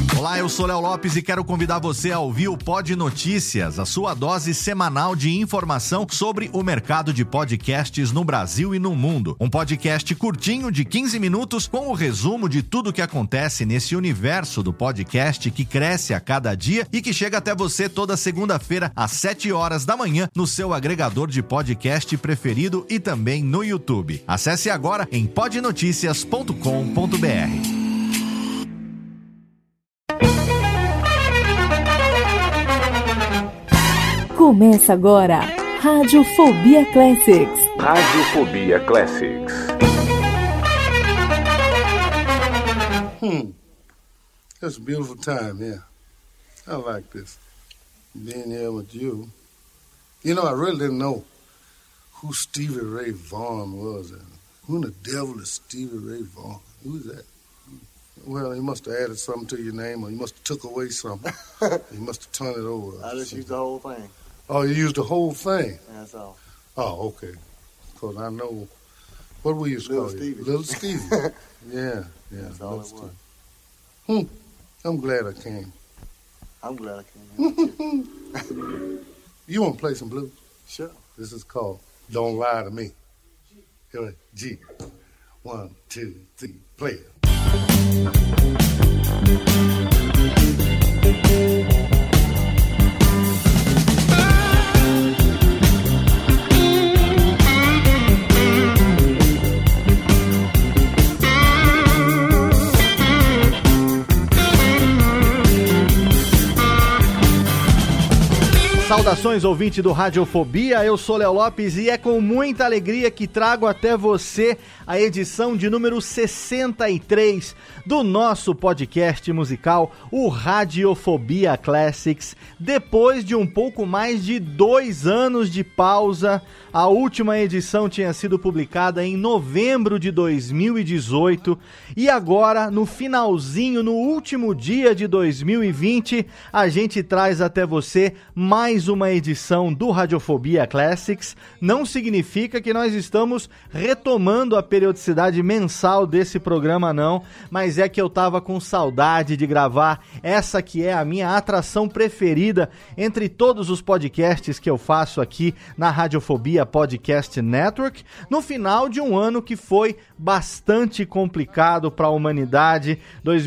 Olá, eu sou Léo Lopes e quero convidar você a ouvir o Pod Notícias, a sua dose semanal de informação sobre o mercado de podcasts no Brasil e no mundo. Um podcast curtinho de 15 minutos com o resumo de tudo que acontece nesse universo do podcast que cresce a cada dia e que chega até você toda segunda-feira às 7 horas da manhã no seu agregador de podcast preferido e também no YouTube. Acesse agora em podnoticias.com.br. Começa agora, Radiofobia Classics. Radiofobia Classics. It's a beautiful time here. I like this. Being here with you. You know, I really didn't know who Stevie Ray Vaughan was. Who in the devil is Stevie Ray Vaughan? Who's that? Well, he must have added something to your name, or he must have took away something. He must have turned it over. I just used the whole thing. Oh, you used the whole thing? That's all. Oh, okay. Because I know, what we used to call you? Little Stevie. Yeah. That's all it was. I'm glad I came. I'm glad I came here, too. You want to play some blues? Sure. This is called Don't Lie to Me. Here, G. 1, 2, 3, play it. Saudações, ouvinte do Radiofobia, eu sou Léo Lopes e é com muita alegria que trago até você a edição de número 63 do nosso podcast musical, o Radiofobia Classics. Depois de um pouco mais de 2 anos de pausa, a última edição tinha sido publicada em novembro de 2018 e agora, no finalzinho, no último dia de 2020, a gente traz até você mais uma edição do Radiofobia Classics. Não significa que nós estamos retomando a periodicidade mensal desse programa, não, mas é que eu tava com saudade de gravar essa que é a minha atração preferida entre todos os podcasts que eu faço aqui na Radiofobia Podcast Network, no final de um ano que foi bastante complicado para a humanidade.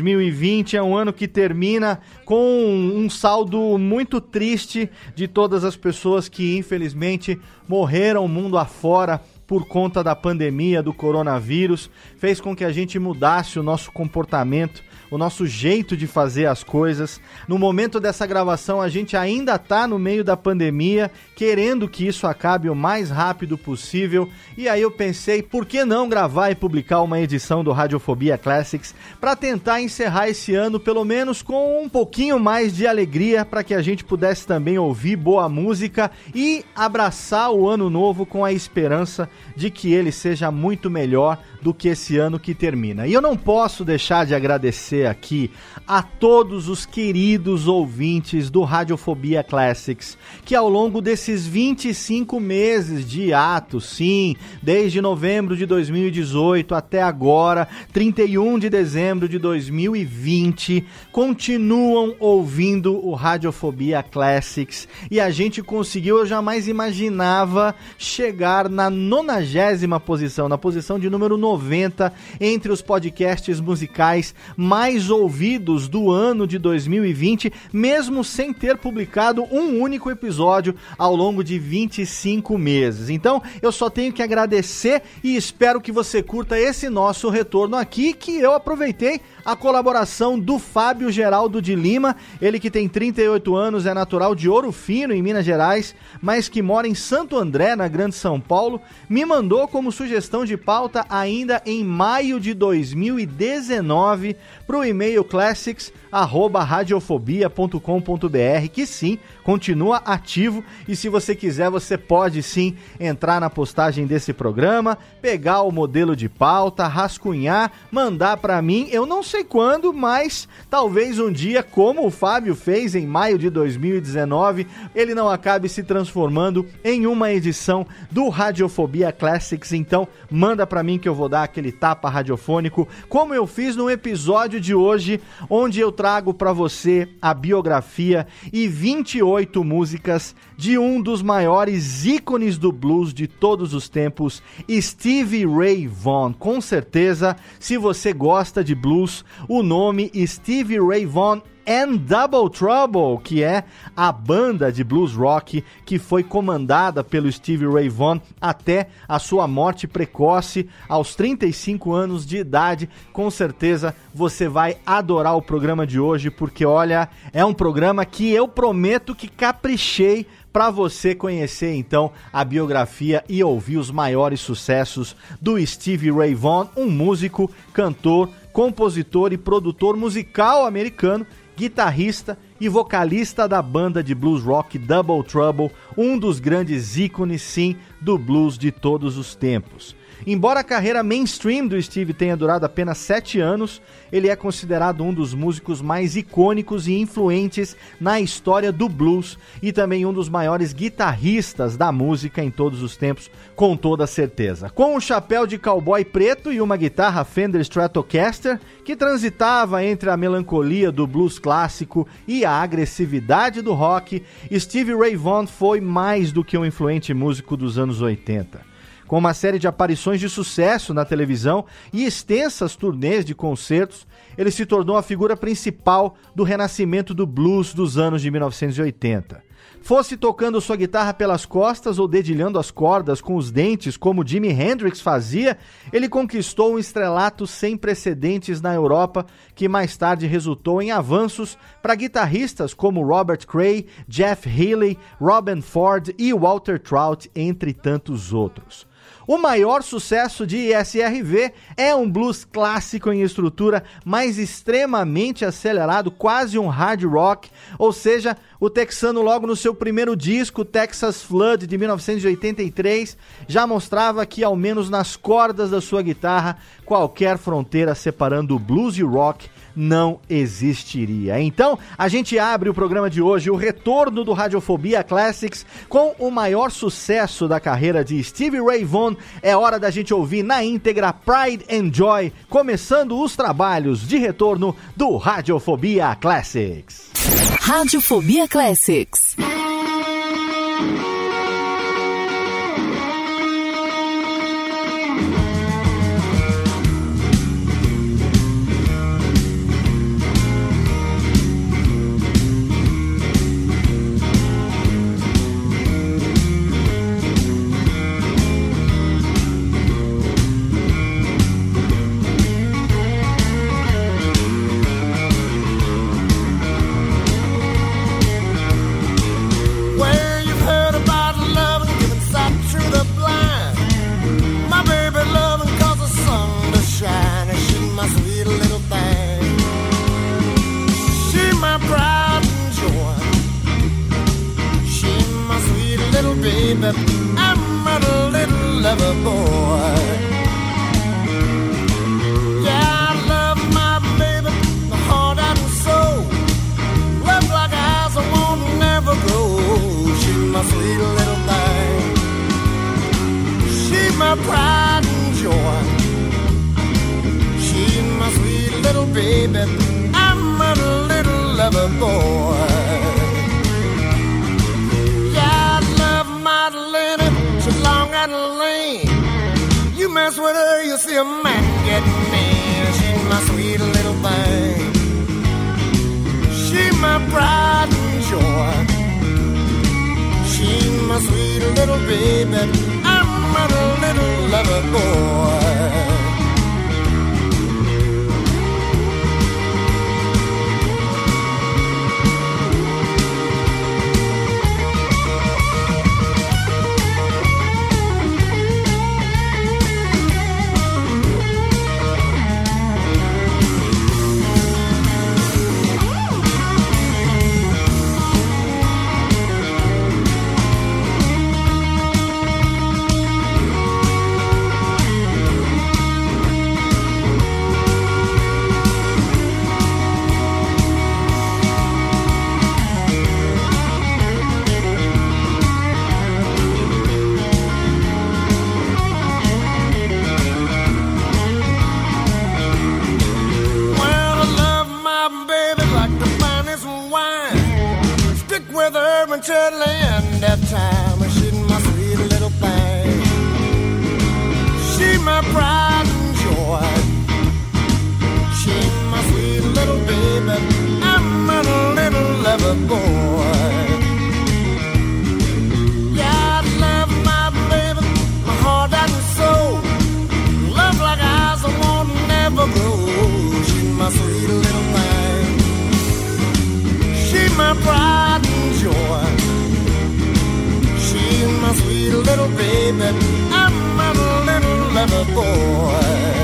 2020 é um ano que termina com um saldo muito triste de todas as pessoas que infelizmente morreram mundo afora por conta da pandemia do coronavírus. Fez com que a gente mudasse o nosso comportamento, o nosso jeito de fazer as coisas. No momento dessa gravação, a gente ainda está no meio da pandemia, querendo que isso acabe o mais rápido possível. E aí eu pensei, por que não gravar e publicar uma edição do Radiofobia Classics para tentar encerrar esse ano, pelo menos com um pouquinho mais de alegria, para que a gente pudesse também ouvir boa música e abraçar o ano novo com a esperança de que ele seja muito melhor do que esse ano que termina. E eu não posso deixar de agradecer aqui a todos os queridos ouvintes do Radiofobia Classics, que ao longo desses 25 meses de hiato, sim, desde novembro de 2018 até agora, 31 de dezembro de 2020, continuam ouvindo o Radiofobia Classics, e a gente conseguiu, eu jamais imaginava chegar na 90ª posição, na posição de número 90 entre os podcasts musicais mais ouvidos do ano de 2020, mesmo sem ter publicado um único episódio ao longo de 25 meses. Então, eu só tenho que agradecer e espero que você curta esse nosso retorno aqui, que eu aproveitei a colaboração do Fábio Geraldo de Lima, ele que tem 38 anos, é natural de Ouro Fino, em Minas Gerais, mas que mora em Santo André, na Grande São Paulo, me mandou como sugestão de pauta ainda em maio de 2019 para o e-mail classics@radiofobia.com.br, que sim, continua ativo, e se você quiser, você pode sim entrar na postagem desse programa, pegar o modelo de pauta, rascunhar, mandar para mim, eu não sei quando, mas talvez um dia, como o Fábio fez em maio de 2019, ele não acabe se transformando em uma edição do Radiofobia Classics. Então manda para mim que eu vou vou dar aquele tapa radiofônico, como eu fiz no episódio de hoje, onde eu trago para você a biografia e 28 músicas de um dos maiores ícones do blues de todos os tempos, Stevie Ray Vaughan. Com certeza, se você gosta de blues, o nome Stevie Ray Vaughan and Double Trouble, que é a banda de blues rock que foi comandada pelo Stevie Ray Vaughan até a sua morte precoce aos 35 anos de idade. Com certeza você vai adorar o programa de hoje, porque olha, é um programa que eu prometo que caprichei para você conhecer então a biografia e ouvir os maiores sucessos do Stevie Ray Vaughan, um músico, cantor, compositor e produtor musical americano, guitarrista e vocalista da banda de blues rock Double Trouble, um dos grandes ícones, sim, do blues de todos os tempos. Embora a carreira mainstream do Steve tenha durado apenas 7 anos, ele é considerado um dos músicos mais icônicos e influentes na história do blues e também um dos maiores guitarristas da música em todos os tempos, com toda certeza. Com um chapéu de cowboy preto e uma guitarra Fender Stratocaster, que transitava entre a melancolia do blues clássico e a agressividade do rock, Stevie Ray Vaughan foi mais do que um influente músico dos anos 80. Com uma série de aparições de sucesso na televisão e extensas turnês de concertos, ele se tornou a figura principal do renascimento do blues dos anos de 1980. Fosse tocando sua guitarra pelas costas ou dedilhando as cordas com os dentes, como Jimi Hendrix fazia, ele conquistou um estrelato sem precedentes na Europa, que mais tarde resultou em avanços para guitarristas como Robert Cray, Jeff Healey, Robin Ford e Walter Trout, entre tantos outros. O maior sucesso de SRV é um blues clássico em estrutura, mas extremamente acelerado, quase um hard rock, ou seja, o texano logo no seu primeiro disco, Texas Flood, de 1983, já mostrava que, ao menos nas cordas da sua guitarra, qualquer fronteira separando o blues e o rock não existiria. Então, a gente abre o programa de hoje, o retorno do Radiofobia Classics, com o maior sucesso da carreira de Stevie Ray Vaughan. É hora da gente ouvir na íntegra Pride and Joy, começando os trabalhos de retorno do Radiofobia Classics. Radiofobia Classics. I'm a little lover boy. Yeah, I love my baby, my heart and soul. Love like eyes I won't never grow. She's my sweet little thing. She's my pride and joy. She's my sweet little baby. I'm a little lover boy. Long and lean. You mess with her, you'll see a man get mean. She's my sweet little thing. She's my pride and joy. She's my sweet little baby. I'm a little lover boy. Land that time, she's my sweet little thing. She's my pride and joy. She's my sweet little baby. I'm a little lover boy. Yeah, I love my baby, my heart and soul. Love like eyes I won't never grow. She's my sweet little thing. She's my pride and joy. My sweet little baby, I'm a little lover boy.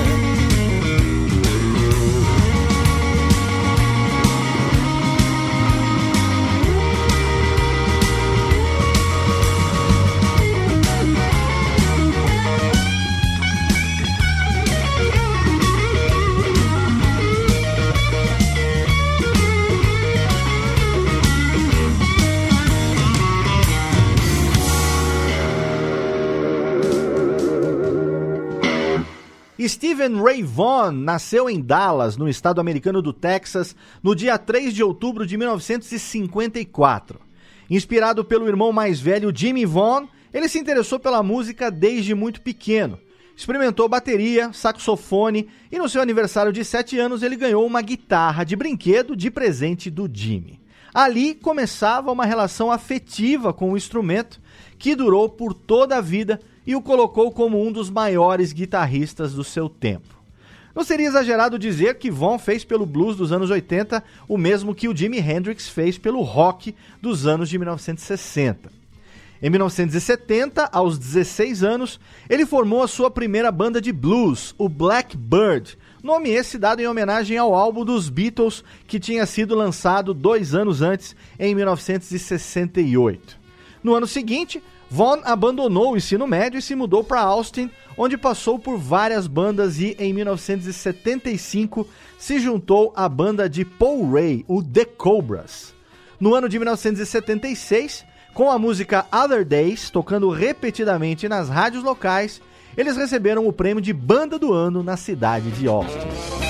Stephen Ray Vaughan nasceu em Dallas, no estado americano do Texas, no dia 3 de outubro de 1954. Inspirado pelo irmão mais velho Jimmy Vaughan, ele se interessou pela música desde muito pequeno. Experimentou bateria, saxofone e no seu aniversário de 7 anos ele ganhou uma guitarra de brinquedo de presente do Jimmy. Ali começava uma relação afetiva com o instrumento que durou por toda a vida e o colocou como um dos maiores guitarristas do seu tempo. Não seria exagerado dizer que Vaughan fez pelo blues dos anos 80 o mesmo que o Jimi Hendrix fez pelo rock dos anos de 1960. Em 1970, aos 16 anos, ele formou a sua primeira banda de blues, o Blackbird, nome esse dado em homenagem ao álbum dos Beatles que tinha sido lançado 2 anos antes, em 1968. No ano seguinte, Vaughan abandonou o ensino médio e se mudou para Austin, onde passou por várias bandas e, em 1975, se juntou à banda de Paul Ray, o The Cobras. No ano de 1976, com a música Other Days, tocando repetidamente nas rádios locais, eles receberam o prêmio de Banda do Ano na cidade de Austin.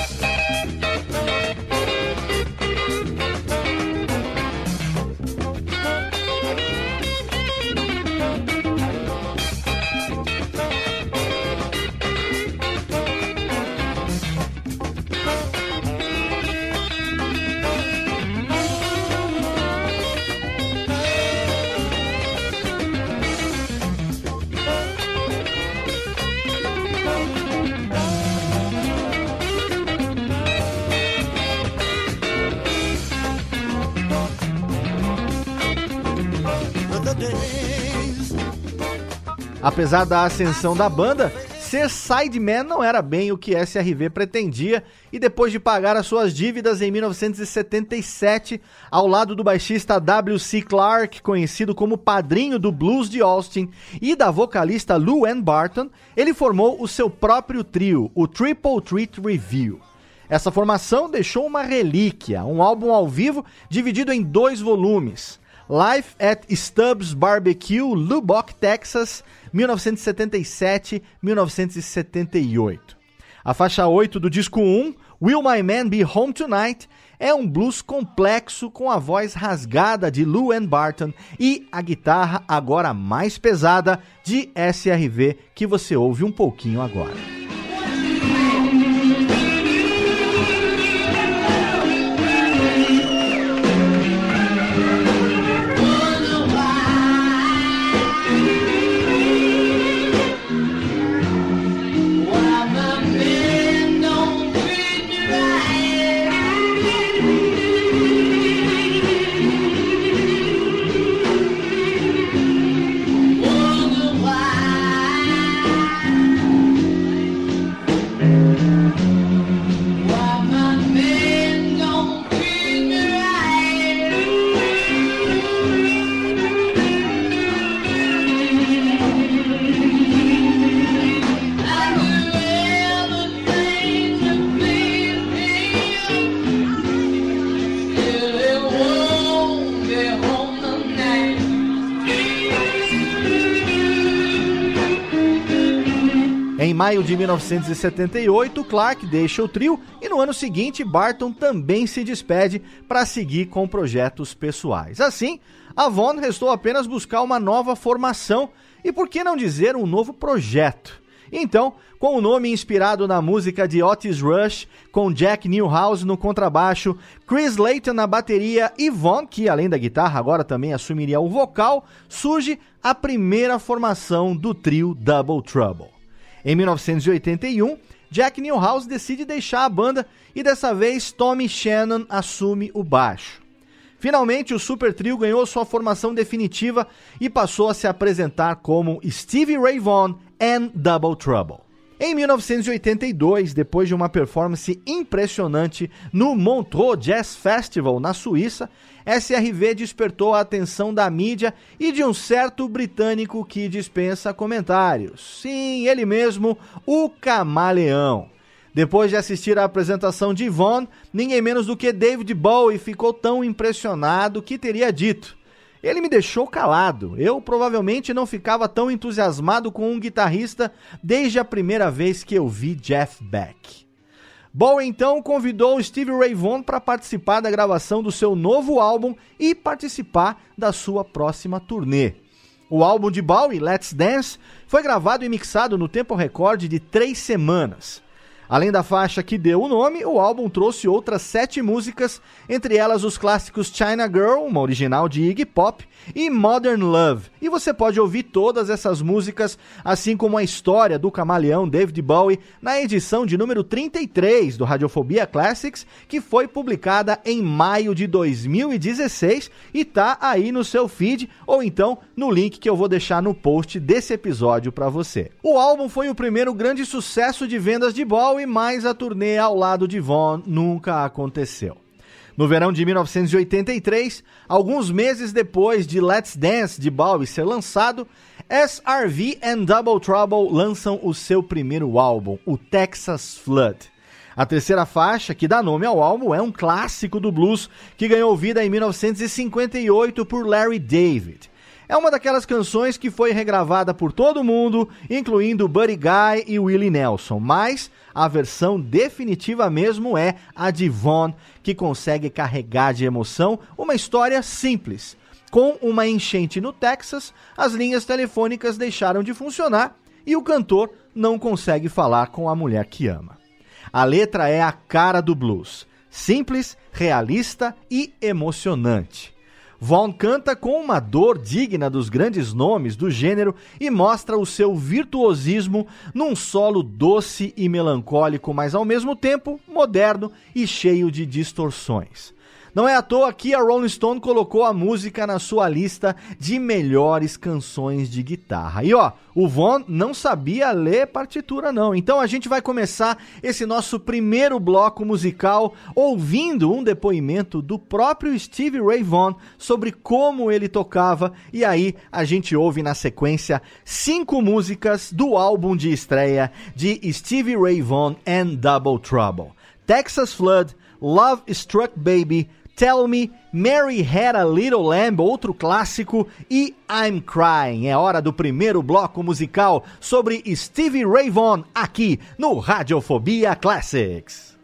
Apesar da ascensão da banda, ser sideman não era bem o que SRV pretendia e depois de pagar as suas dívidas em 1977, ao lado do baixista W.C. Clark, conhecido como padrinho do blues de Austin, e da vocalista Lou Ann Barton, ele formou o seu próprio trio, o Triple Threat Review. Essa formação deixou uma relíquia, um álbum ao vivo dividido em 2 volumes. Live at Stubbs Barbecue, Lubbock, Texas, 1977-1978. A faixa 8 do disco 1, Will My Man Be Home Tonight, é um blues complexo com a voz rasgada de Lou Ann Barton e a guitarra agora mais pesada de SRV, que você ouve um pouquinho agora. maio de 1978, Clark deixa o trio e no ano seguinte Barton também se despede para seguir com projetos pessoais. Assim, a Vaughn restou apenas buscar uma nova formação e, por que não dizer, um novo projeto. Então, com o nome inspirado na música de Otis Rush, com Jack Newhouse no contrabaixo, Chris Layton na bateria e Vaughn, que além da guitarra agora também assumiria o vocal, surge a primeira formação do trio Double Trouble. Em 1981, Jack Newhouse decide deixar a banda e dessa vez Tommy Shannon assume o baixo. Finalmente, o Super Trio ganhou sua formação definitiva e passou a se apresentar como Stevie Ray Vaughan and Double Trouble. Em 1982, depois de uma performance impressionante no Montreux Jazz Festival, na Suíça, SRV despertou a atenção da mídia e de um certo britânico que dispensa comentários. Sim, ele mesmo, o Camaleão. Depois de assistir à apresentação de Vaughan, ninguém menos do que David Bowie ficou tão impressionado que teria dito: ele me deixou calado, eu provavelmente não ficava tão entusiasmado com um guitarrista desde a primeira vez que eu vi Jeff Beck. Bowie então convidou Stevie Ray Vaughan para participar da gravação do seu novo álbum e participar da sua próxima turnê. O álbum de Bowie, Let's Dance, foi gravado e mixado no tempo recorde de 3 semanas. Além da faixa que deu o nome, o álbum trouxe outras 7 músicas, entre elas os clássicos China Girl, uma original de Iggy Pop, e Modern Love. E você pode ouvir todas essas músicas, assim como a história do camaleão David Bowie, na edição de número 33 do Radiofobia Classics, que foi publicada em maio de 2016 e tá aí no seu feed, ou então no link que eu vou deixar no post desse episódio para você. O álbum foi o primeiro grande sucesso de vendas de Bowie, mas a turnê ao lado de Vaughan nunca aconteceu. No verão de 1983, alguns meses depois de Let's Dance de Bowie ser lançado, SRV and Double Trouble lançam o seu primeiro álbum, o Texas Flood. A terceira faixa, que dá nome ao álbum, é um clássico do blues que ganhou vida em 1958 por Larry David. É uma daquelas canções que foi regravada por todo mundo, incluindo Buddy Guy e Willie Nelson, mas a versão definitiva mesmo é a de Vaughan, que consegue carregar de emoção uma história simples. Com uma enchente no Texas, as linhas telefônicas deixaram de funcionar e o cantor não consegue falar com a mulher que ama. A letra é a cara do blues, simples, realista e emocionante. Vaughan canta com uma dor digna dos grandes nomes do gênero e mostra o seu virtuosismo num solo doce e melancólico, mas ao mesmo tempo moderno e cheio de distorções. Não é à toa que a Rolling Stone colocou a música na sua lista de melhores canções de guitarra. E o Vaughan não sabia ler partitura não, então a gente vai começar esse nosso primeiro bloco musical ouvindo um depoimento do próprio Stevie Ray Vaughan sobre como ele tocava, e aí a gente ouve na sequência 5 músicas do álbum de estreia de Stevie Ray Vaughan and Double Trouble: Texas Flood, Love Struck Baby, Tell Me, Mary Had a Little Lamb, outro clássico, e I'm Crying. É hora do primeiro bloco musical sobre Stevie Ray Vaughan aqui no Radiofobia Classics.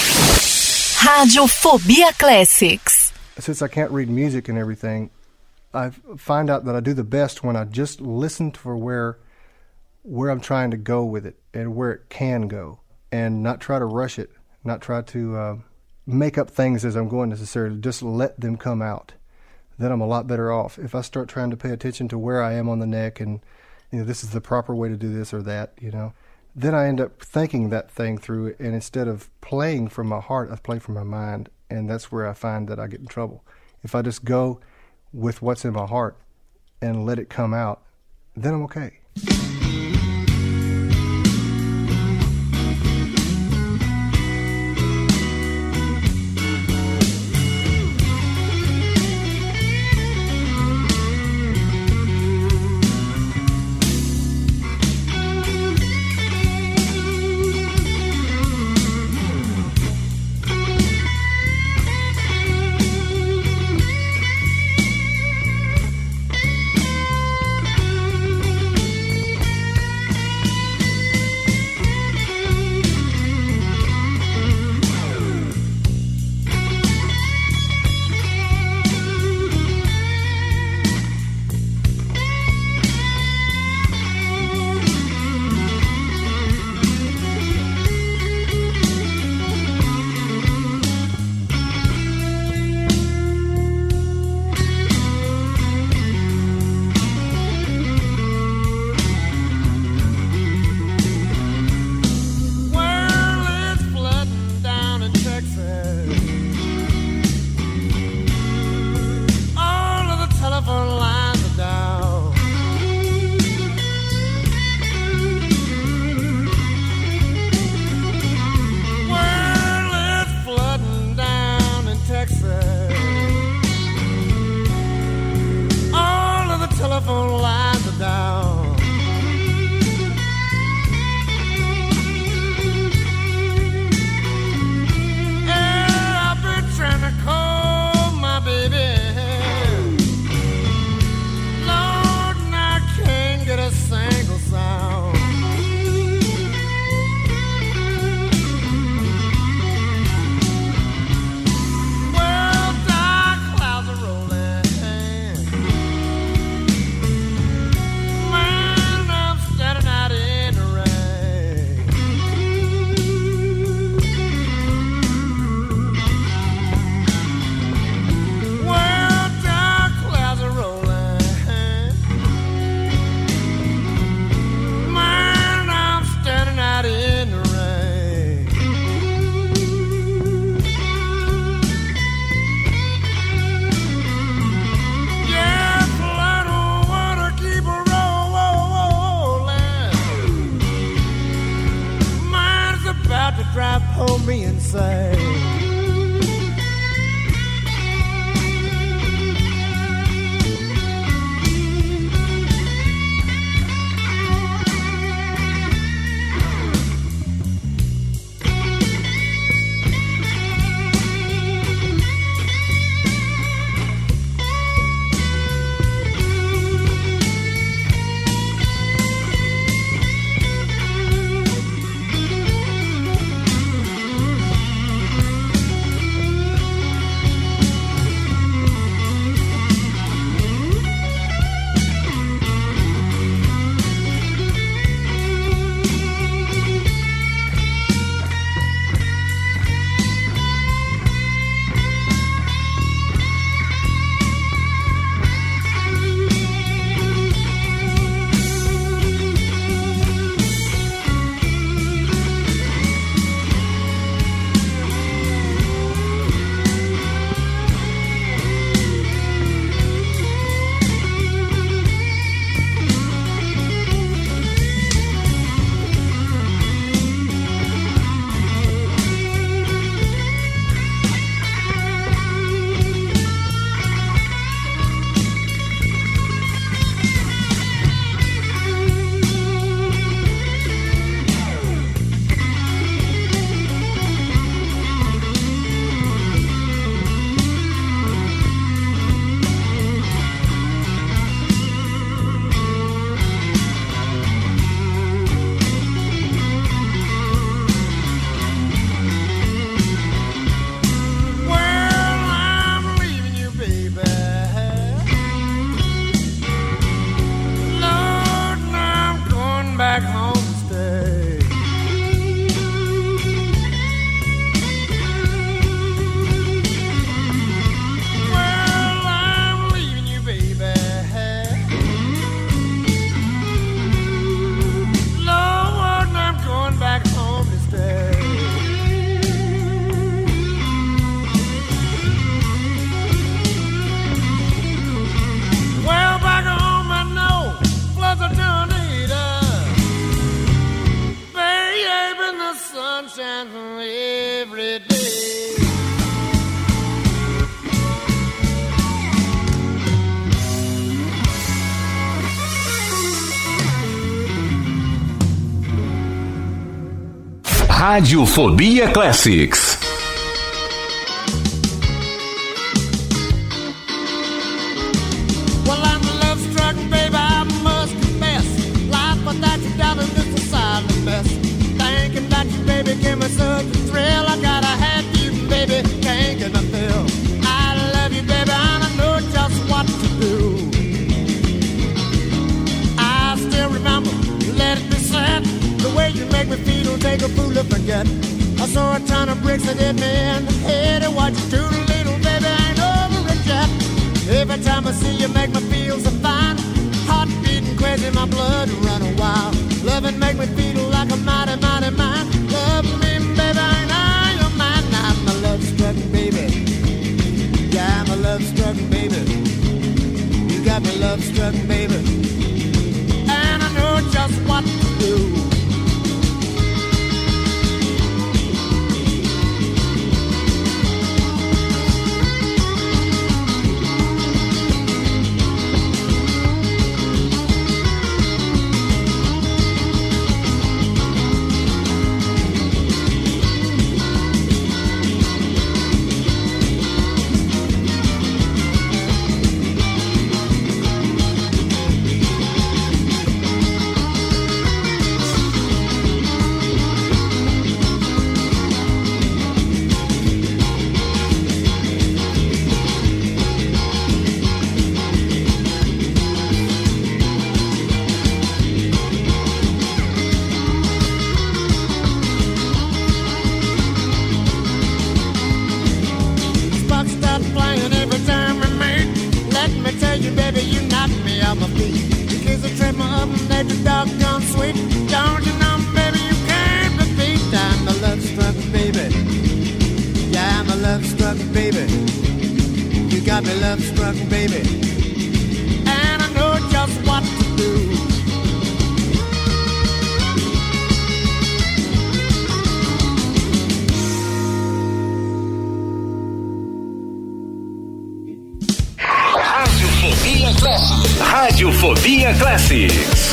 Radiofobia Classics. Since I can't read music and everything, I find out that I do the best when I just listen for where I'm trying to go with it and where it can go, and not try to rush it, not try to make up things as I'm going necessarily, just let them come out. Then I'm a lot better off. If I start trying to pay attention to where I am on the neck and, this is the proper way to do this or that, then I end up thinking that thing through, and instead of playing from my heart, I play from my mind, and that's where I find that I get in trouble. If I just go with what's in my heart and let it come out, then I'm okay. Radiofobia Classics. Well, I'm love struck, baby, I must confess. Life without you, darling, is a silent mess. Thinking about you, baby, give me such a thrill. I gotta have you, baby, can't get my fill. I love you, baby, and I know just what to do. I still remember, let it be said, the way you make me feel, take a fool to forget. I saw a ton of bricks that hit me in the head, and what you do to little baby ain't over it yet. Every time I see you make me feel so fine, heart beating crazy, my blood running wild. Loving make me feel like a mighty, mighty man. Love me, baby, and I am mine. I'm a love-struck baby. Yeah, I'm a love-struck baby. You got me love-struck baby, and I know just what to do. Radiofobia Classics.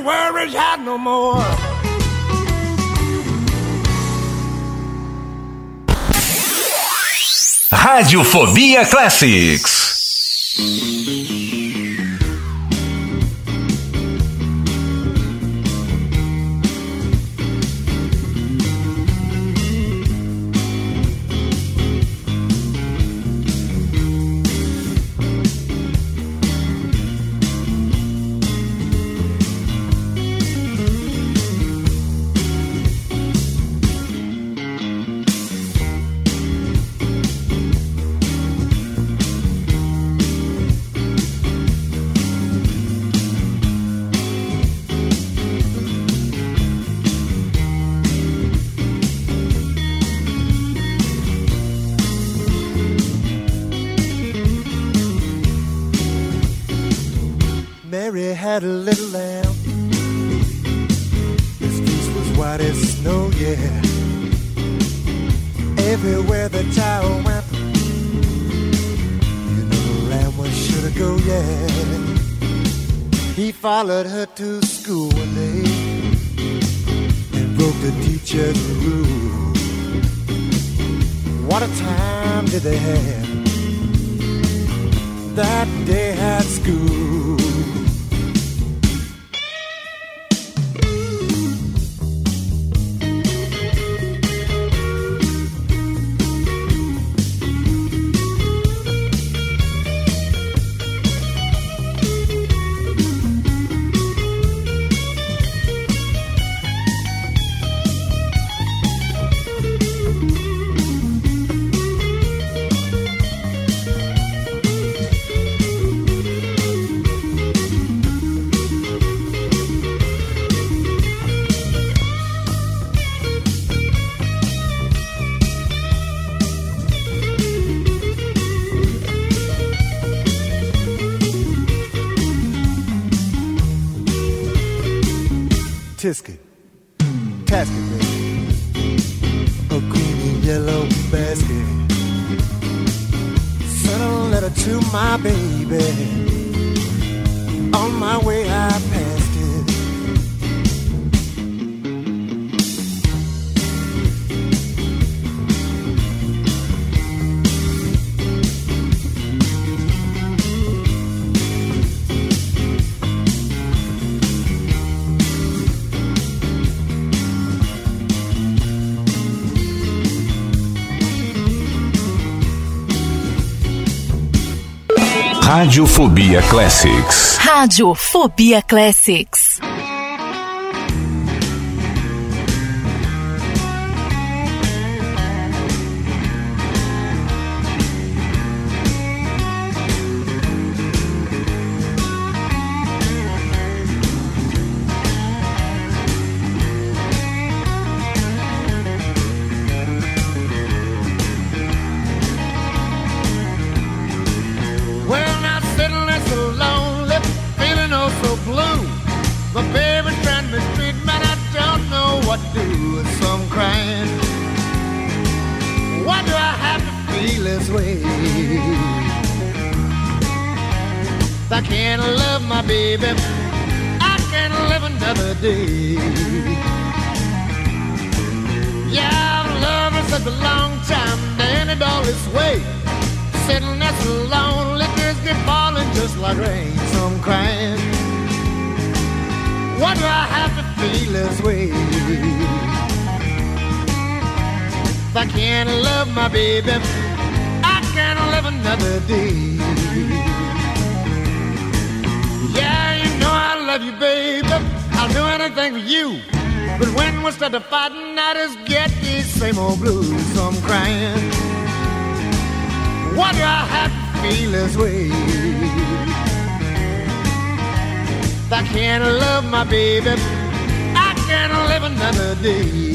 worry ya no more. Radiofobia Classics. Mary had a little lamb. His fleece was white as snow, yeah. Everywhere the child went, you know the lamb was sure to go, yeah. He followed her to school one day and broke the teacher's rule. What a time did they have that day at school. Tisket, tasket, baby. A green and yellow basket. Sent a letter to my baby. On my way I passed it. Radiofobia Classics. Radiofobia Classics. I can't love my baby, I can't live another day. Yeah, I've loved her such a long time, and it all this way. Sitting there so lonely, tears get falling just like rain. So I'm crying, why do I have to feel this way? If I can't love my baby, I can't live another day. Yeah, you know I love you, baby. I'll do anything for you. But when we start to fighting, I just get these same old blues. So I'm crying, why do I have to feel this way? If I can't love my baby, I can't live another day.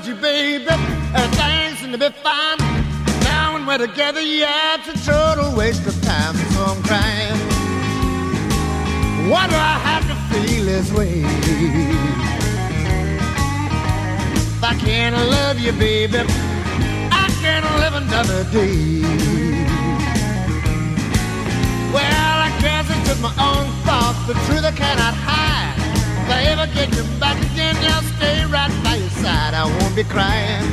loved you, baby. Things seem to be fine. Now when we're together, yeah, it's a total waste of time. So I'm crying. Why do I have to feel this way? If I can't love you, baby, I can't live another day. Well, I guess it's just my own fault. The truth I cannot hide. If I ever get you back again, I'll stay right by your side. I won't be crying.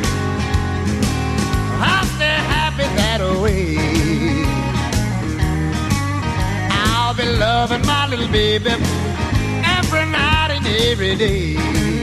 I'll stay happy that way. I'll be loving my little baby every night and every day.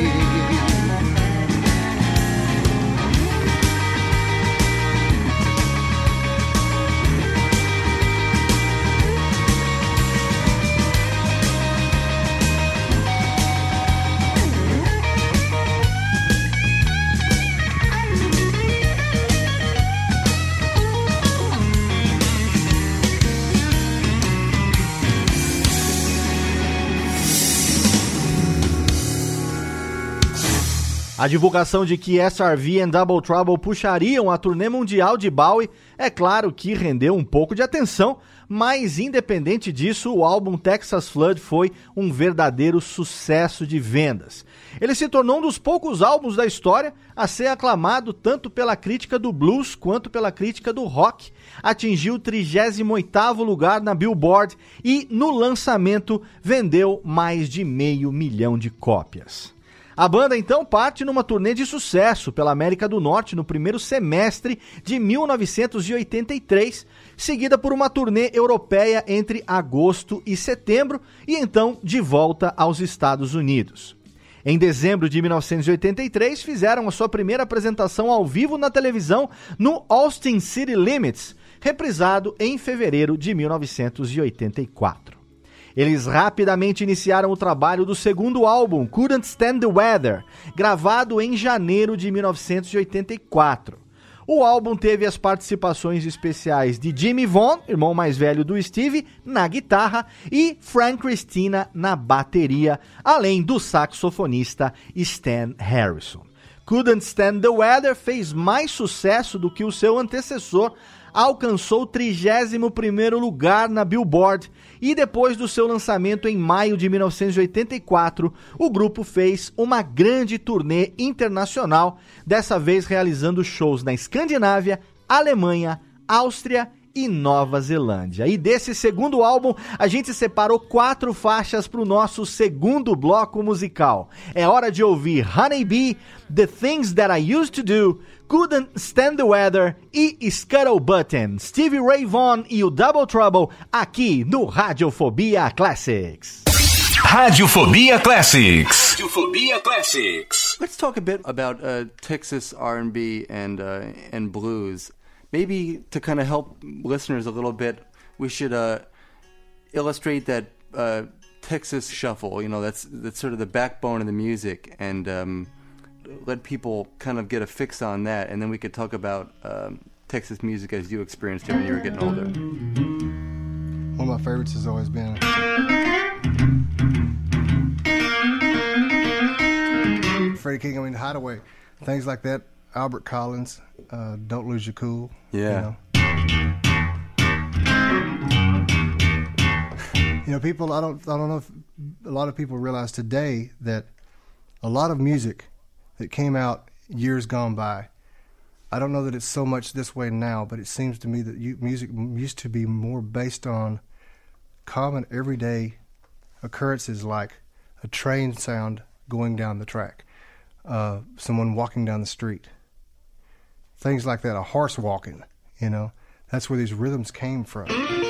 A divulgação de que SRV e Double Trouble puxariam a turnê mundial de Bowie, é claro que rendeu um pouco de atenção, mas independente disso, o álbum Texas Flood foi um verdadeiro sucesso de vendas. Ele se tornou um dos poucos álbuns da história a ser aclamado tanto pela crítica do blues quanto pela crítica do rock. Atingiu o 38º lugar na Billboard e, no lançamento, vendeu mais de 500 mil de cópias. A banda, então, parte numa turnê de sucesso pela América do Norte no primeiro semestre de 1983, seguida por uma turnê europeia entre agosto e setembro e, então, de volta aos Estados Unidos. Em dezembro de 1983, fizeram a sua primeira apresentação ao vivo na televisão no Austin City Limits, reprisado em fevereiro de 1984. Eles rapidamente iniciaram o trabalho do segundo álbum, Couldn't Stand the Weather, gravado em janeiro de 1984. O álbum teve as participações especiais de Jimmy Vaughan, irmão mais velho do Steve, na guitarra, e Frank Christina na bateria, além do saxofonista Stan Harrison. Couldn't Stand the Weather fez mais sucesso do que o seu antecessor, alcançou o 31º lugar na Billboard e depois do seu lançamento em maio de 1984, o grupo fez uma grande turnê internacional, dessa vez realizando shows na Escandinávia, Alemanha, Áustria e Nova Zelândia. E desse segundo álbum, a gente separou 4 faixas para o nosso segundo bloco musical. É hora de ouvir Honey Bee, The Things That I Used to Do, Couldn't Stand the Weather e Scuttle Button, Stevie Ray Vaughan e o Double Trouble, aqui no Radiofobia Classics. Radiofobia Classics. Radiofobia Classics. Let's talk a bit about Texas R&B and blues. Maybe to kind of help listeners a little bit, we should illustrate that Texas shuffle. You know, that's sort of the backbone of the music, and let people kind of get a fix on that, and then we could talk about Texas music as you experienced it when you were getting older. One of my favorites has always been Freddie King, Hideaway, things like that. Albert Collins, Don't Lose Your Cool. Yeah. You know, people, I don't know if a lot of people realize today that a lot of music that came out years gone by, I don't know that it's so much this way now, but it seems to me that music used to be more based on common everyday occurrences like a train sound going down the track, someone walking down the street, things like that, a horse walking, you know. That's where these rhythms came from.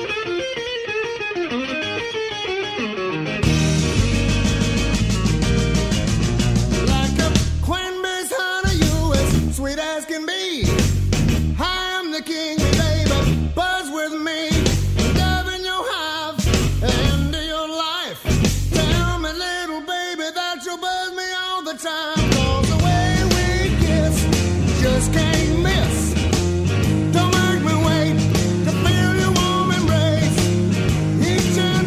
Sweet as can be. I am the king, baby. Buzz with me. Love in your hive, end of your life. Tell me, little baby, that you'll buzz me all the time. 'Cause the way we kiss, just can't miss. Don't make me wait to feel your warm embrace. Each and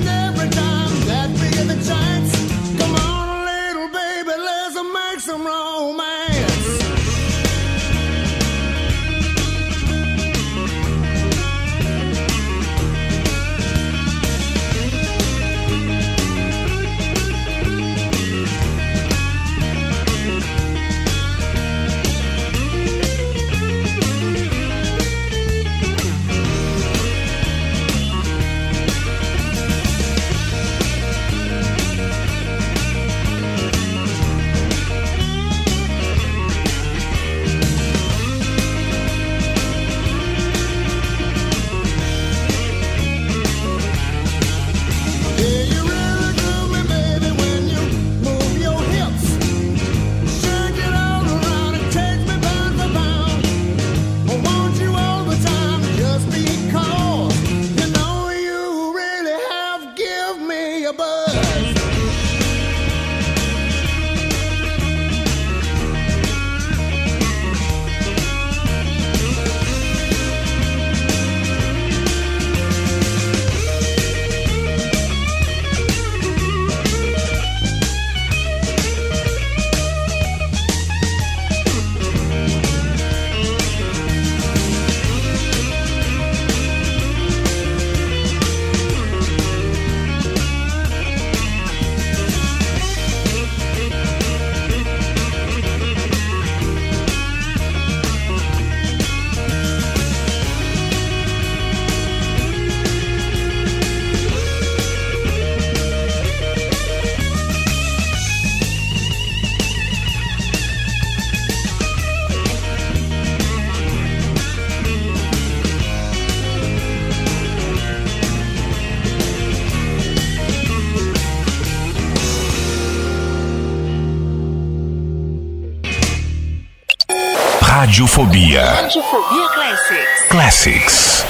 Radiofobia. Radiofobia Classics. Classics.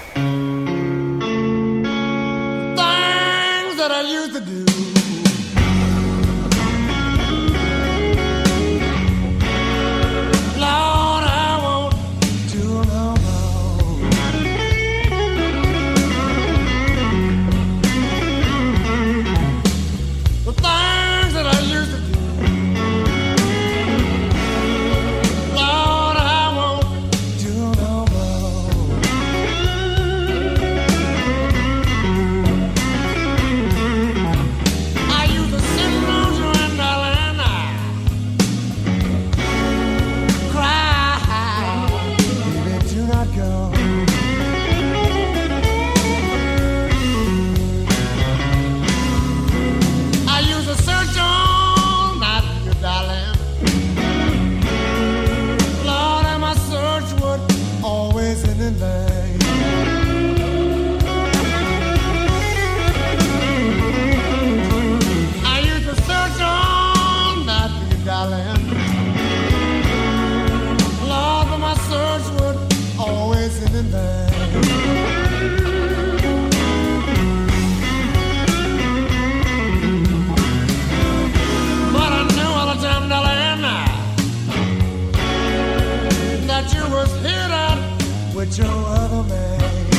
Things that I used to do. Lord, I won't do no more. The things that I used to do. Lord, I won't do no more. I used to sit around you and darling, cry, baby, do not go. I used to search all night for you, darling. Lord, and my search would always end in vain. I used to search all night for you, darling. Lord, but my search would always end in vain. But I knew all the time, darling, that you was hid up with your other man.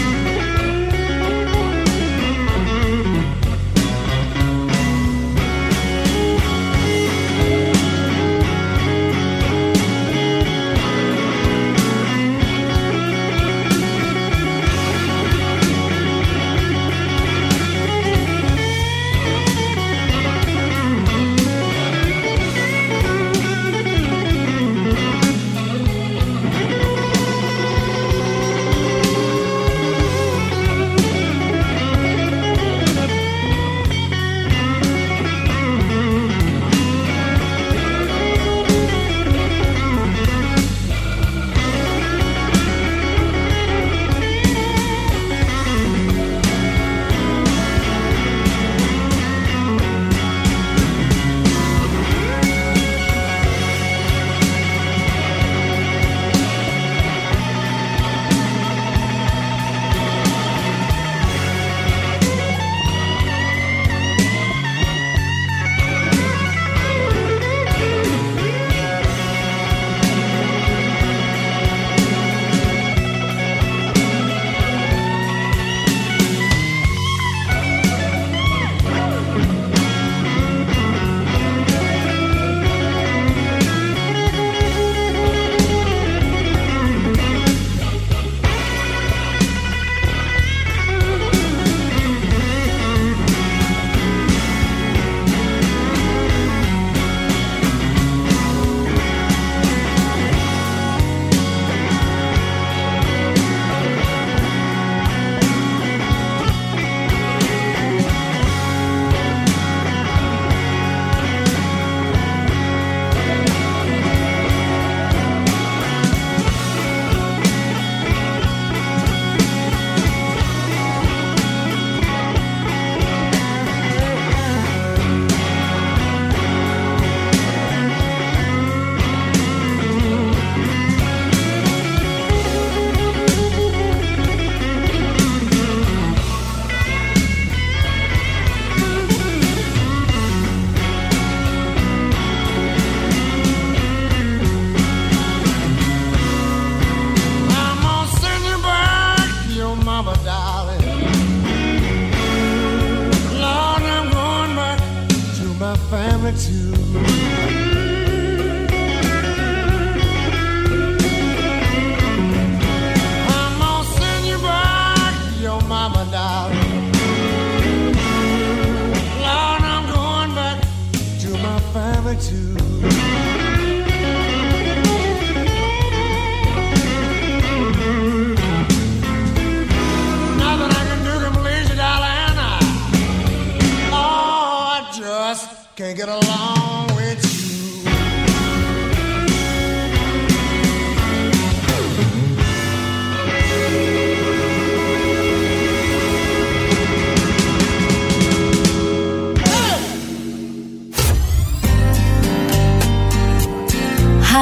Can't get along with you.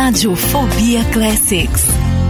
Radiofobia Classics.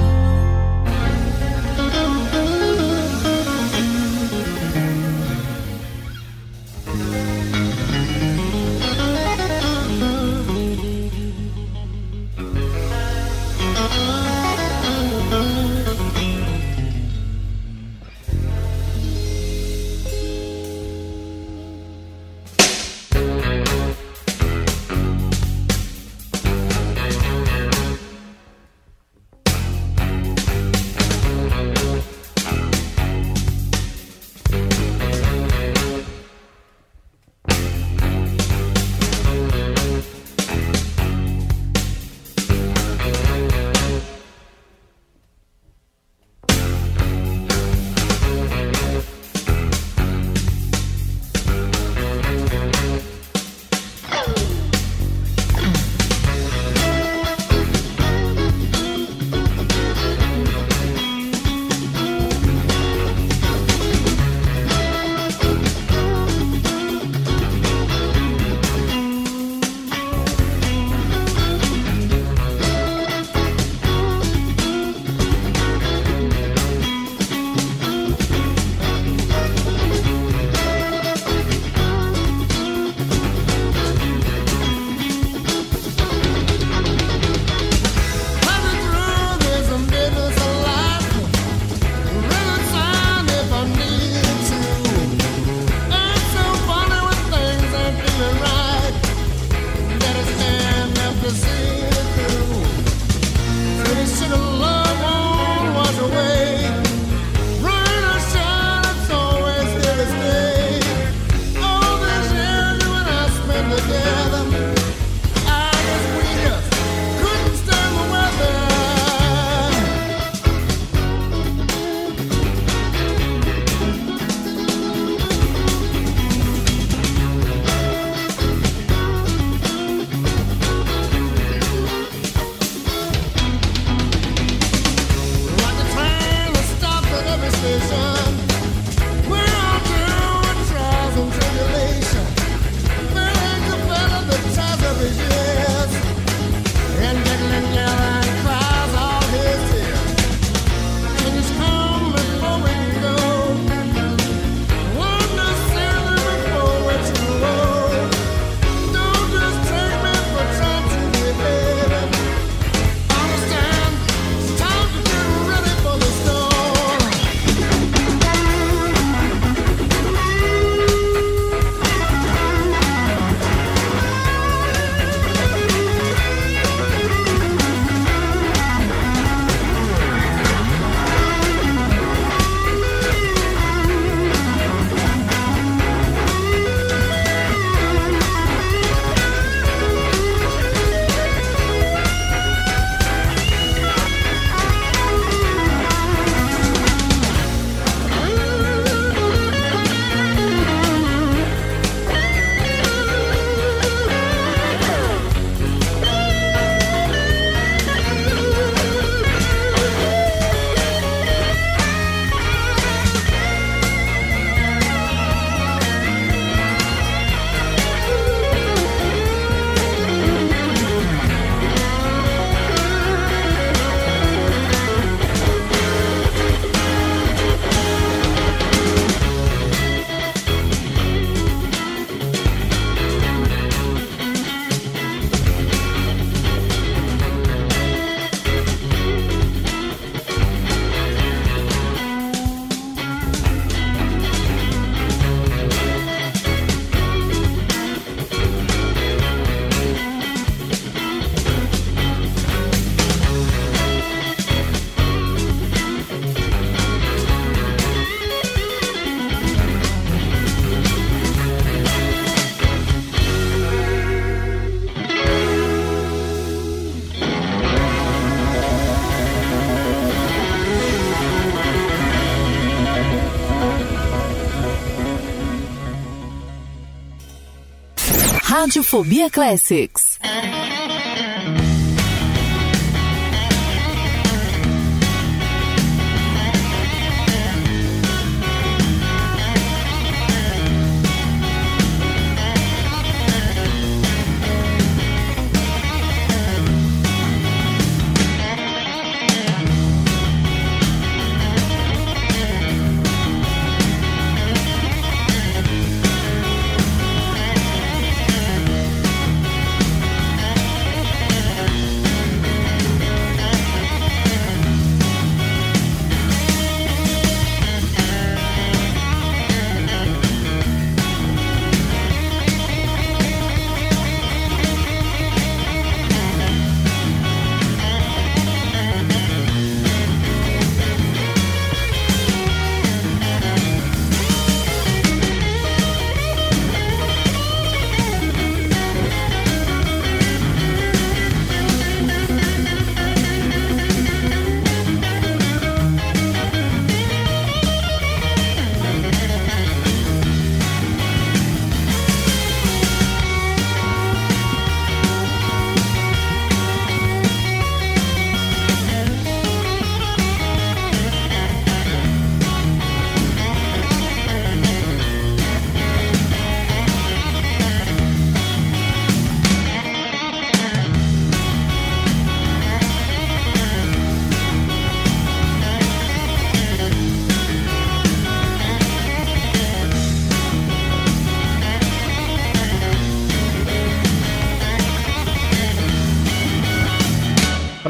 Radiofobia Classics.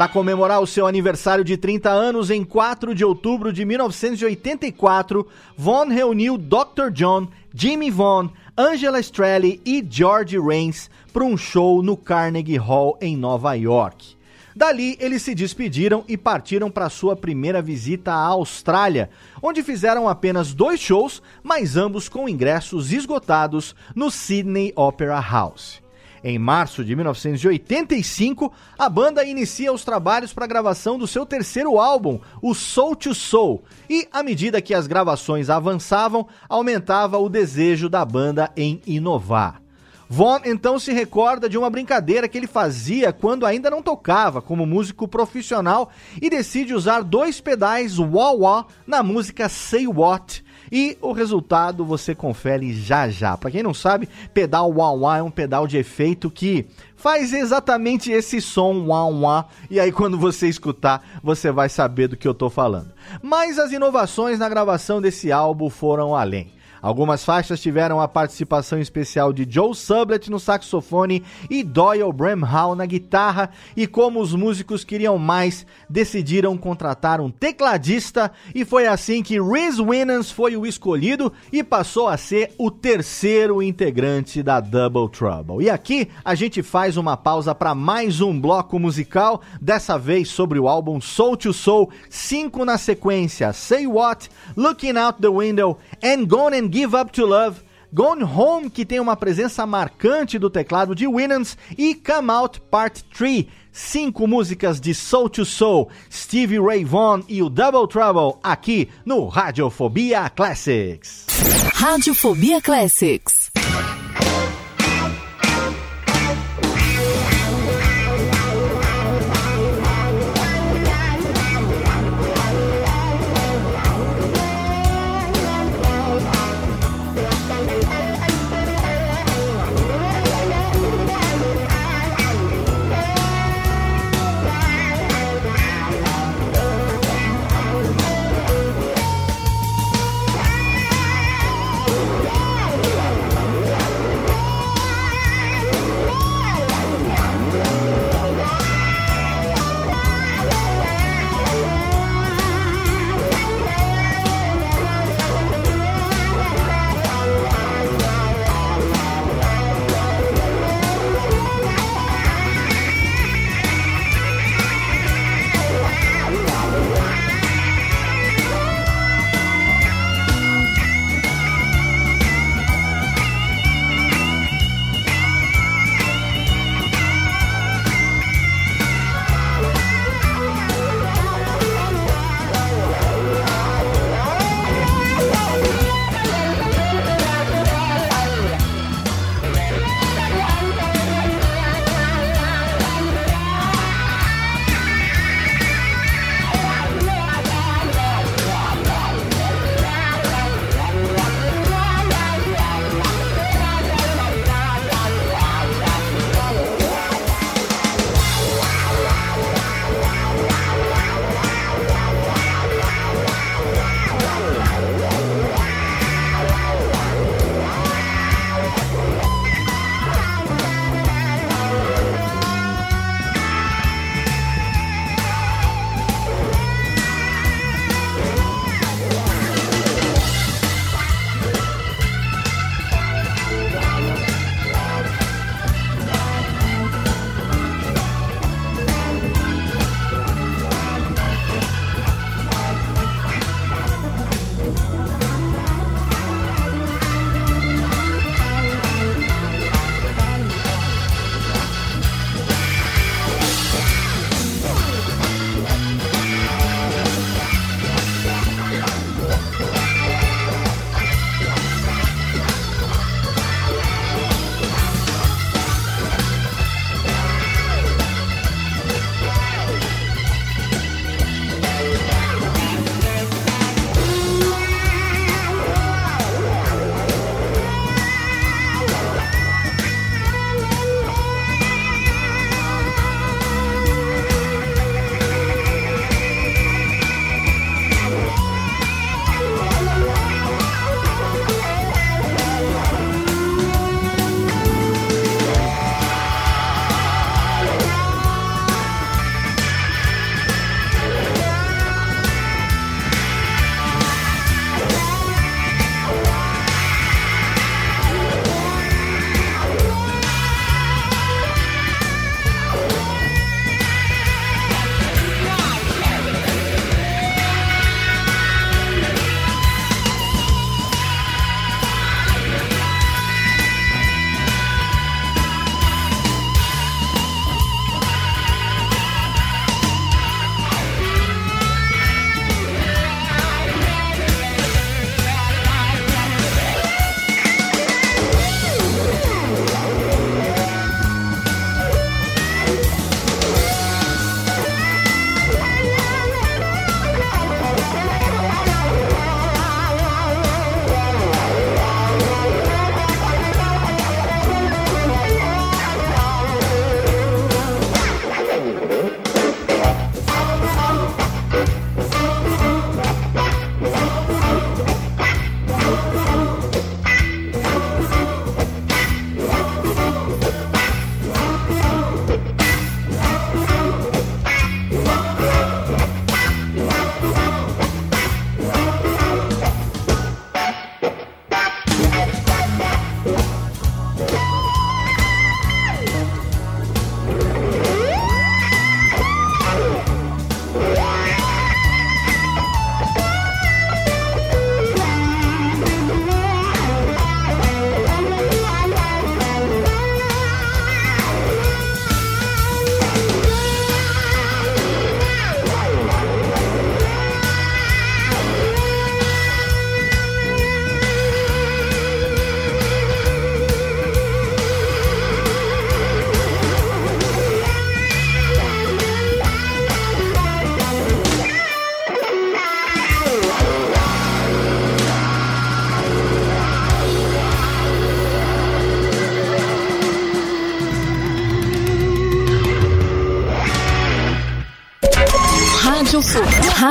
Para comemorar o seu aniversário de 30 anos, em 4 de outubro de 1984, Vaughan reuniu Dr. John, Jimmy Vaughan, Angela Strelly e George Rains para um show no Carnegie Hall em Nova York. Dali, eles se despediram e partiram para sua primeira visita à Austrália, onde fizeram apenas 2 shows, mas ambos com ingressos esgotados no Sydney Opera House. Em março de 1985, a banda inicia os trabalhos para a gravação do seu terceiro álbum, o Soul II Soul, e à medida que as gravações avançavam, aumentava o desejo da banda em inovar. Vaughan então se recorda de uma brincadeira que ele fazia quando ainda não tocava como músico profissional e decide usar 2 pedais wah-wah na música Say What, e o resultado você confere já já. Para quem não sabe, pedal wah-wah é um pedal de efeito que faz exatamente esse som wah-wah, e aí quando você escutar, você vai saber do que eu tô falando. Mas as inovações na gravação desse álbum foram além. Algumas faixas tiveram a participação especial de Joe Sublett no saxofone e Doyle Bramhall na guitarra, e como os músicos queriam mais, decidiram contratar um tecladista, e foi assim que Rhys Winans foi o escolhido e passou a ser o terceiro integrante da Double Trouble. E aqui a gente faz uma pausa para mais um bloco musical, dessa vez sobre o álbum Soul II Soul, 5 na sequência: Say What, Looking Out the Window, and Gone and Give Up to Love, Gone Home, que tem uma presença marcante do teclado de Winans, e Come Out Part 3, 5 músicas de Soul II Soul, Stevie Ray Vaughan e o Double Trouble, aqui no Radiofobia Classics. Radiofobia Classics.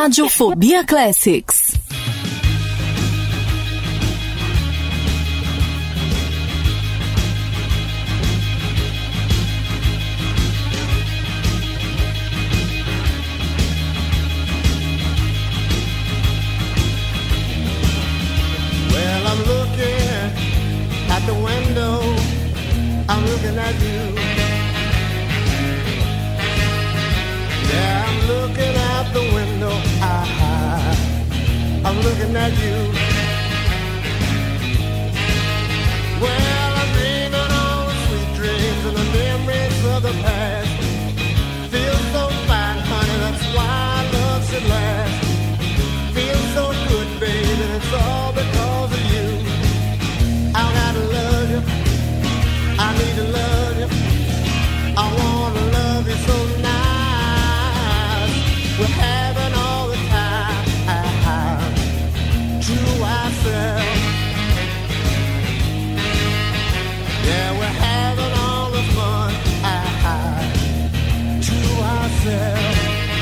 Radiofobia Classics. Well, I'm looking at the window, I'm looking at you. Yeah, I'm looking out the window, I'm looking at you. Well, I'm dreaming all the sweet dreams and the memories of the past. Feel so fine, honey, that's why love should last. Feel so good, baby, it's all because of you. I gotta love you, I need to love you, I wanna love you so nice. We're having all the time to ourselves. Yeah, we're having all the fun to ourselves.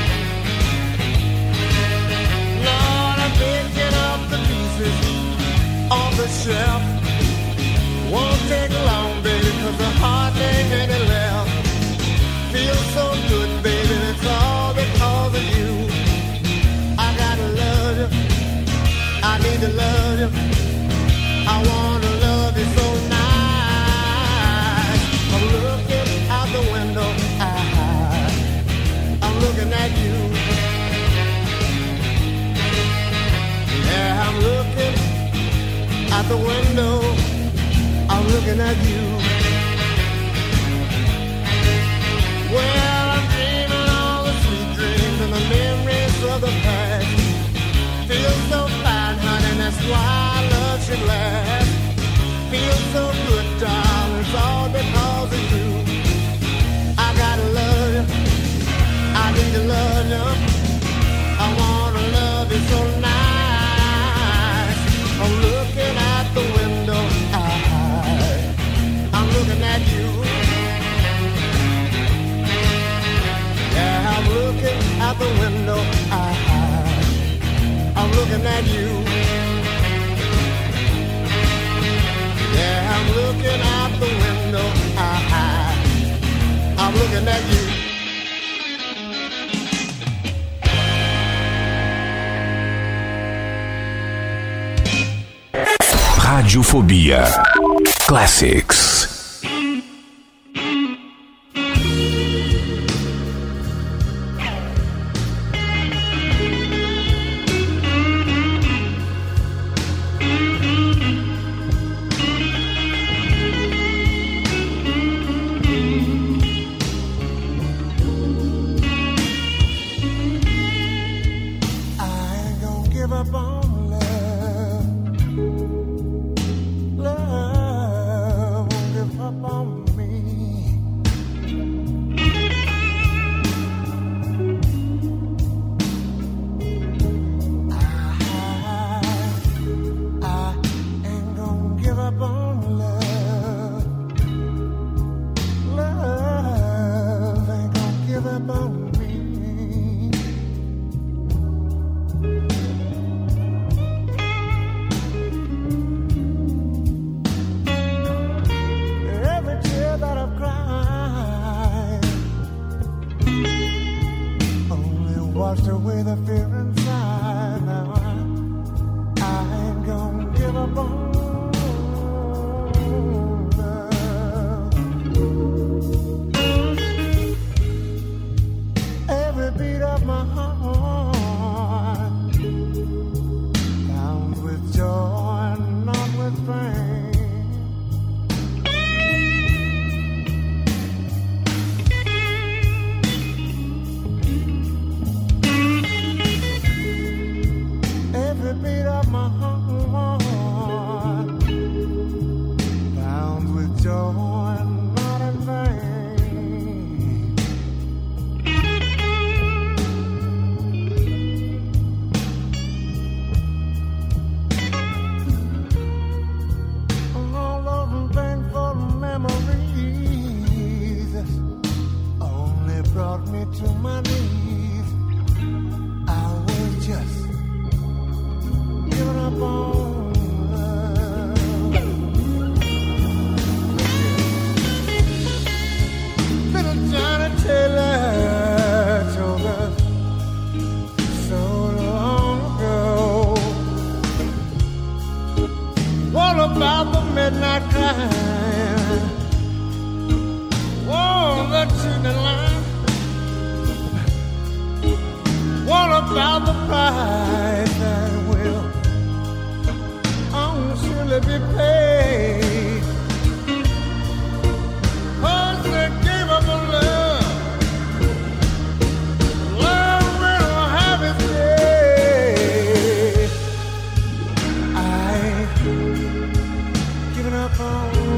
Lord, I'm picking up the pieces on the shelf. Won't take long, baby, 'cause there hardly ain't any left. Feels so good, baby, it's all because of you. I gotta love you, I need to love you, I wanna love you so nice. I'm looking out the window, I'm looking at you. Yeah, I'm looking out the window, I'm looking at you. Well, I'm dreaming all the sweet dreams and the memories of the past. Feel so fine, honey, that's why love should last. Feel so good, darling, it's all because of you. I gotta love you, I need to love you, I wanna love you so nice. I'm looking out the window, I'm looking at you. Yeah, I'm looking out the window, I'm looking at you. Yeah, I'm looking out the window, I'm looking at you. Radiofobia Classics. Washed away the fear inside. Now I ain't gonna give up on love. Every beat of my heart counts with joy and not with pain. Every beat of my heart What about the midnight climb? Oh, the cheating line. What about the price that will surely be paid? Cause they gave up on love. Love will have its day. I ain't giving up on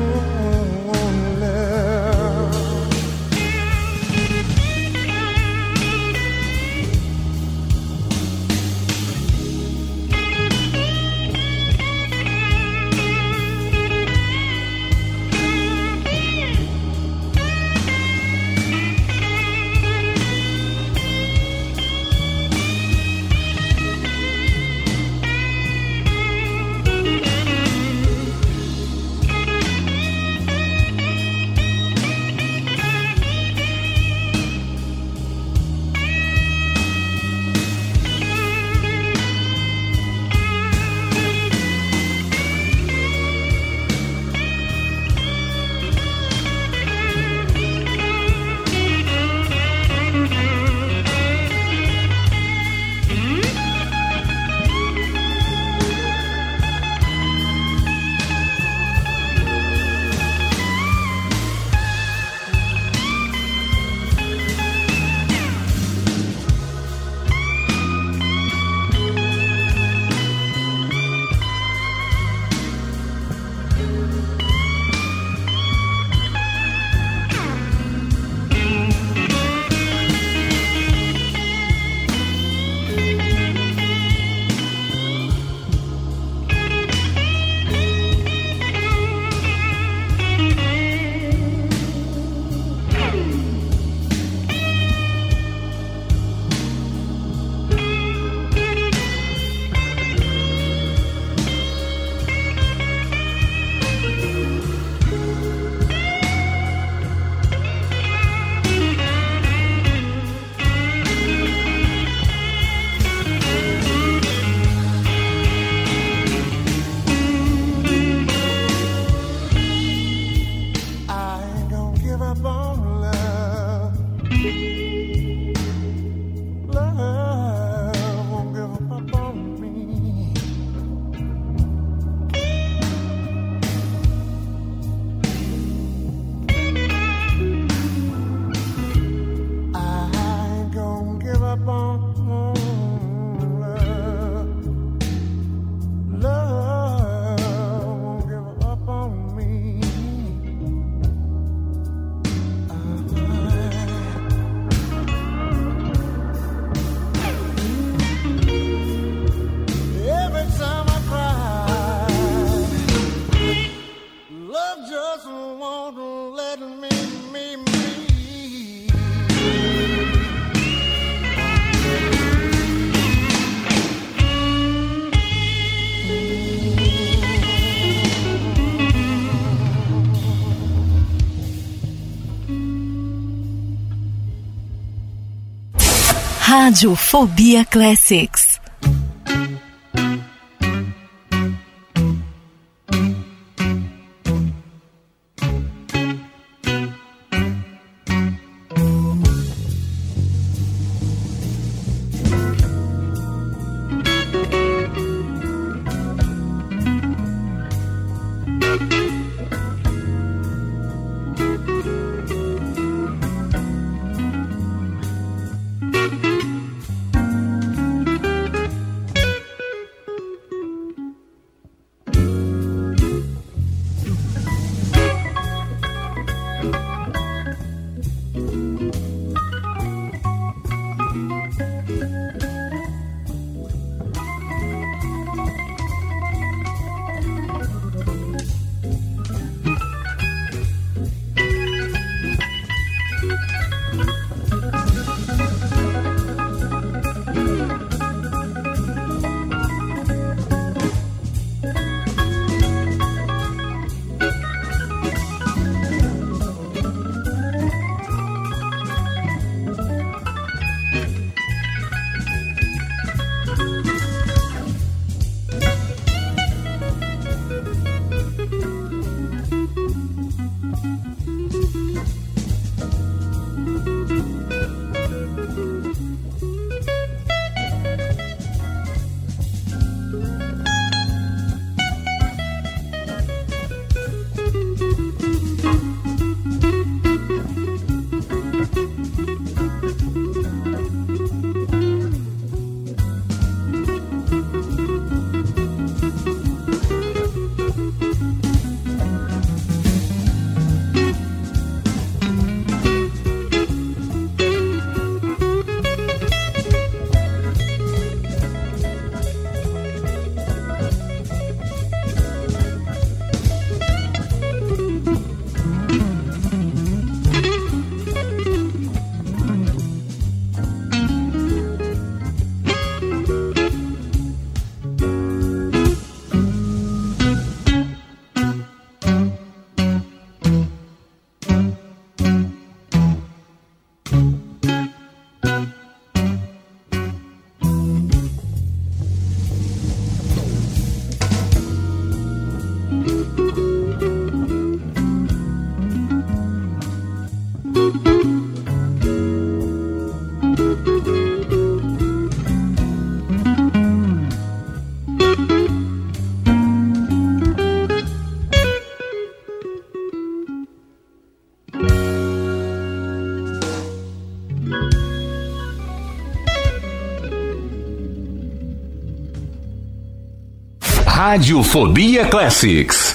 love. Rádio Fobia Classics. Radiofobia Classics.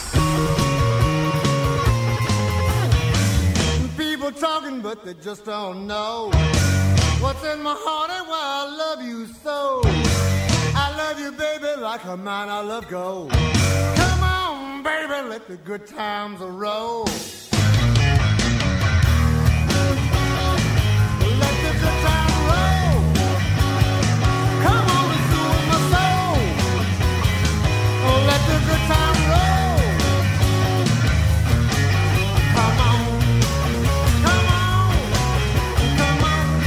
People talking but they just don't know what's in my heart and why I love you so. I love you, baby, like a man I love gold. Come on, baby, let the good times roll. Let the good times roll. Come on and soothe my soul. Oh, let the good times roll. Come on. Come on. Come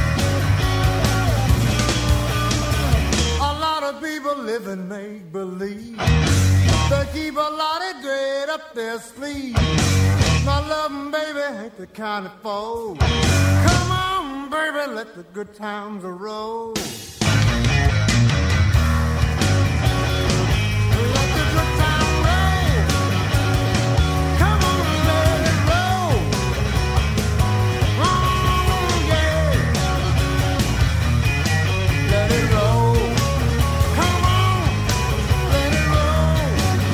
on. A lot of people live in make-believe. They keep a lot of dread up their sleeve. My loving baby ain't the kind of fool. Come on, baby, let the good times roll. Let the good times roll. Come on, let it roll. Oh, yeah. Let it roll. Come on, let it roll.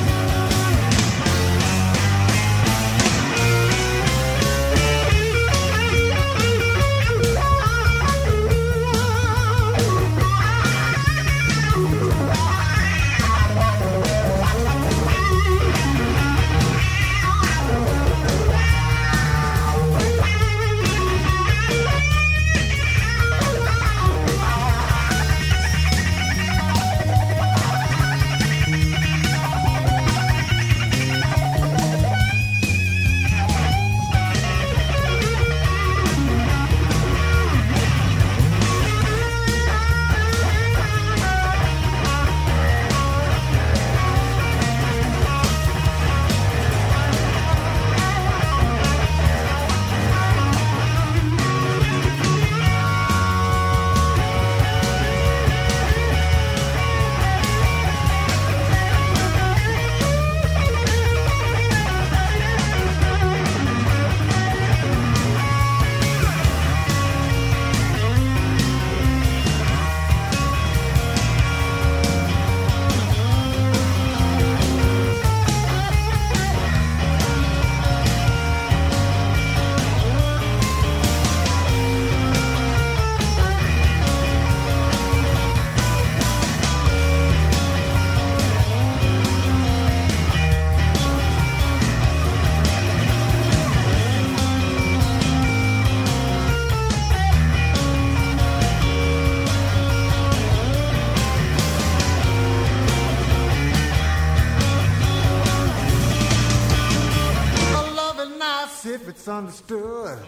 If it's understood,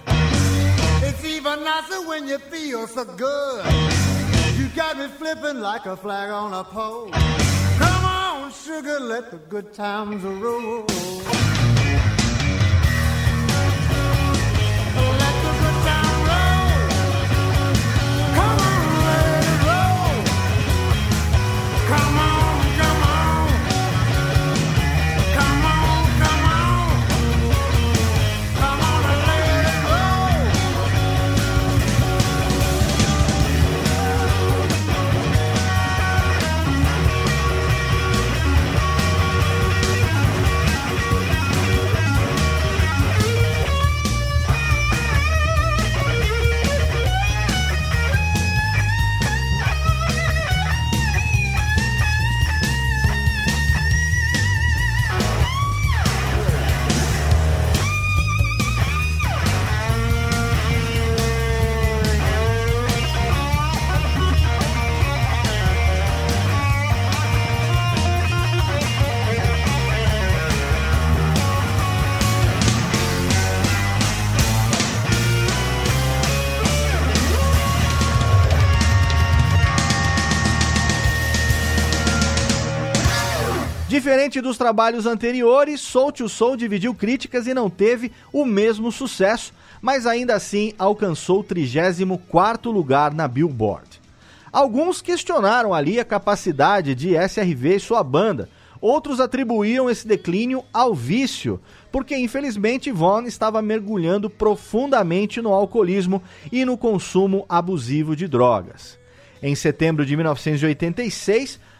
it's even nicer when you feel so good. You got me flipping like a flag on a pole. Come on, sugar, let the good times roll. Let the good times roll. Come on, let it roll. Come on, come on. Come on, come on. Come on and let it roll. Diferente dos trabalhos anteriores, Solte o Soul dividiu críticas e não teve o mesmo sucesso, mas ainda assim alcançou o 34º lugar na Billboard. Alguns questionaram ali a capacidade de SRV e sua banda, outros atribuíam esse declínio ao vício, porque infelizmente Vaughn estava mergulhando profundamente no alcoolismo e no consumo abusivo de drogas. Em setembro de 1986,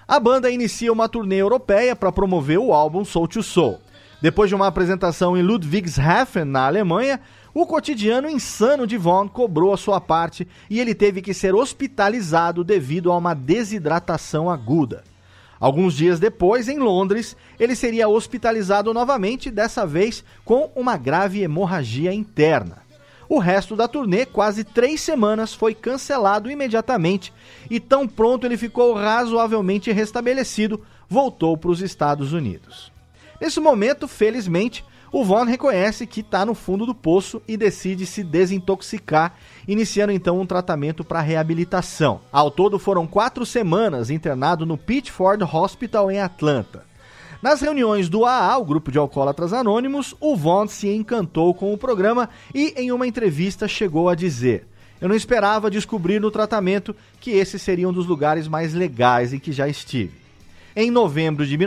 A banda inicia uma turnê europeia para promover o álbum Soul to Soul. Depois de uma apresentação em Ludwigshafen, na Alemanha, o cotidiano insano de Vaughan cobrou a sua parte e ele teve que ser hospitalizado devido a uma desidratação aguda. Alguns dias depois, em Londres, ele seria hospitalizado novamente, dessa vez com uma grave hemorragia interna. O resto da turnê, quase 3 semanas, foi cancelado imediatamente e tão pronto ele ficou razoavelmente restabelecido, voltou para os Estados Unidos. Nesse momento, felizmente, o Vaughan reconhece que está no fundo do poço e decide se desintoxicar, iniciando então um tratamento para reabilitação. Ao todo foram 4 semanas internado no Pitchford Hospital em Atlanta. Nas reuniões do AA, o grupo de alcoólatras anônimos, o Vaughan se encantou com o programa e em uma entrevista chegou a dizer: "Eu não esperava descobrir no tratamento que esse seria um dos lugares mais legais em que já estive." Em novembro de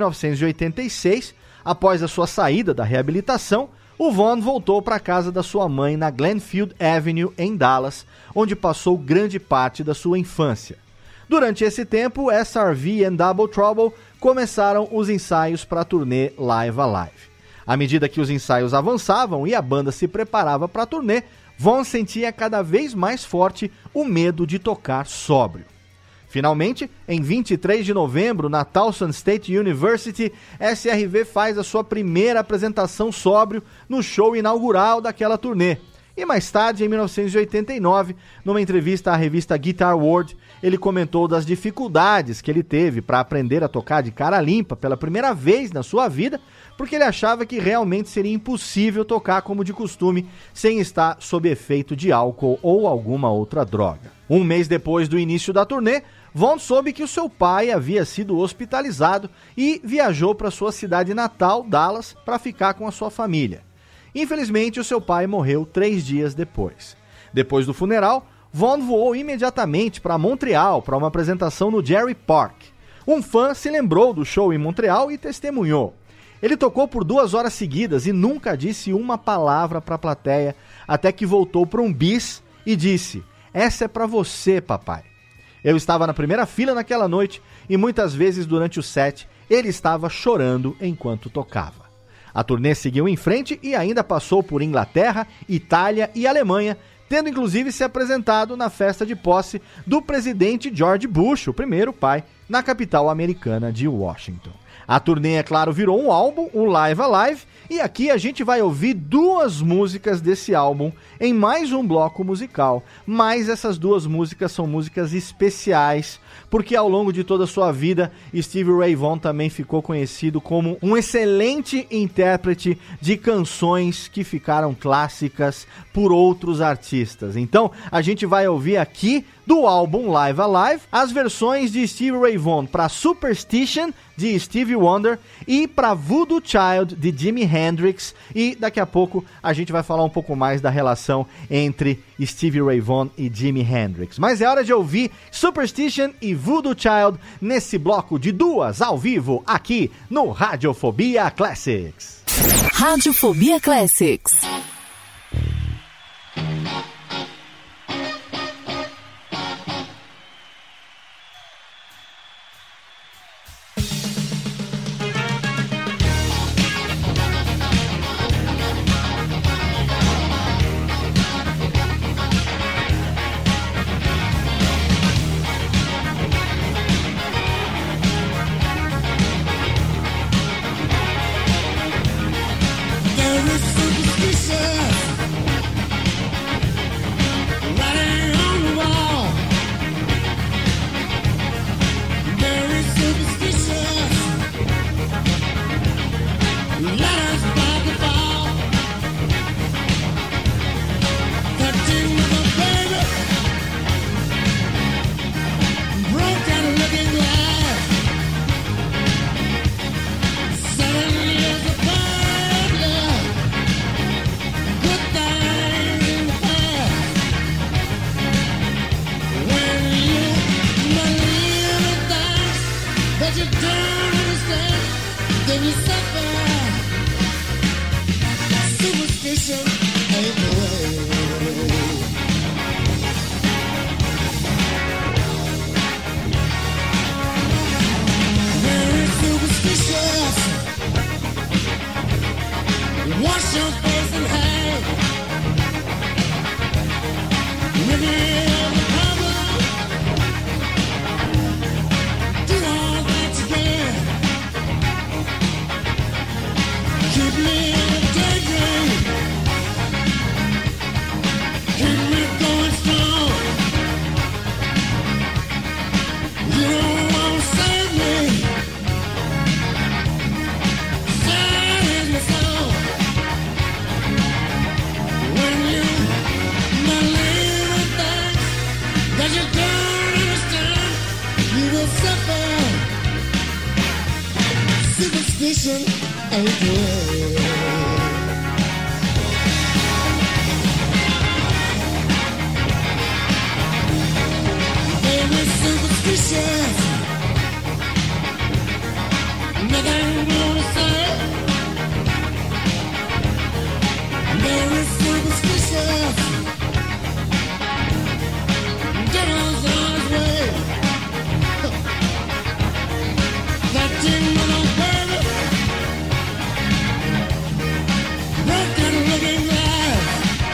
1986, após a sua saída da reabilitação, o Vaughan voltou para a casa da sua mãe na Glenfield Avenue, em Dallas, onde passou grande parte da sua infância. Durante esse tempo, SRV e Double Trouble começaram os ensaios para a turnê Live Alive. À medida que os ensaios avançavam e a banda se preparava para a turnê, Vaughan sentia cada vez mais forte o medo de tocar sóbrio. Finalmente, em 23 de novembro, na Towson State University, SRV faz a sua primeira apresentação sóbrio no show inaugural daquela turnê. E mais tarde, em 1989, numa entrevista à revista Guitar World, ele comentou das dificuldades que ele teve para aprender a tocar de cara limpa pela primeira vez na sua vida, porque ele achava que realmente seria impossível tocar como de costume, sem estar sob efeito de álcool ou alguma outra droga. Um mês depois do início da turnê, Vaughan soube que o seu pai havia sido hospitalizado e viajou para sua cidade natal, Dallas, para ficar com a sua família. Infelizmente, o seu pai morreu 3 dias depois. Depois do funeral, Vaughan voou imediatamente para Montreal para uma apresentação no Jerry Park. Um fã se lembrou do show em Montreal e testemunhou. Ele tocou por 2 horas seguidas e nunca disse uma palavra para a plateia, até que voltou para um bis e disse: "Essa é para você, papai." Eu estava na primeira fila naquela noite e muitas vezes durante o set ele estava chorando enquanto tocava. A turnê seguiu em frente e ainda passou por Inglaterra, Itália e Alemanha, tendo inclusive se apresentado na festa de posse do presidente George Bush, o primeiro pai, na capital americana de Washington. A turnê, é claro, virou um álbum, o Live Alive, e aqui a gente vai ouvir 2 músicas desse álbum em mais um bloco musical, mas essas 2 músicas são músicas especiais, porque ao longo de toda a sua vida, Stevie Ray Vaughan também ficou conhecido como um excelente intérprete de canções que ficaram clássicas por outros artistas. Então, a gente vai ouvir aqui do álbum Live Alive as versões de Stevie Ray Vaughan para Superstition, de Stevie Wonder, e para Voodoo Child, de Jimi Hendrix, e daqui a pouco a gente vai falar um pouco mais da relação entre Stevie Ray Vaughan e Jimi Hendrix. Mas é hora de ouvir Superstition e Voodoo Child nesse bloco de 2 ao vivo aqui no Radiofobia Classics. Radiofobia Classics. There is superstition Wash your face and hang. Maybe the problem. Do all that you can. Keep me in a daydream. Keep me going strong. You don't want to save me. Sad is my soul. When you believe in things that you don't understand, you will suffer. Superstition ain't the way. Very superstitious. Nothing more to say. Very superstitious. Devil's on his way. That thing little baby. Broken looking glass.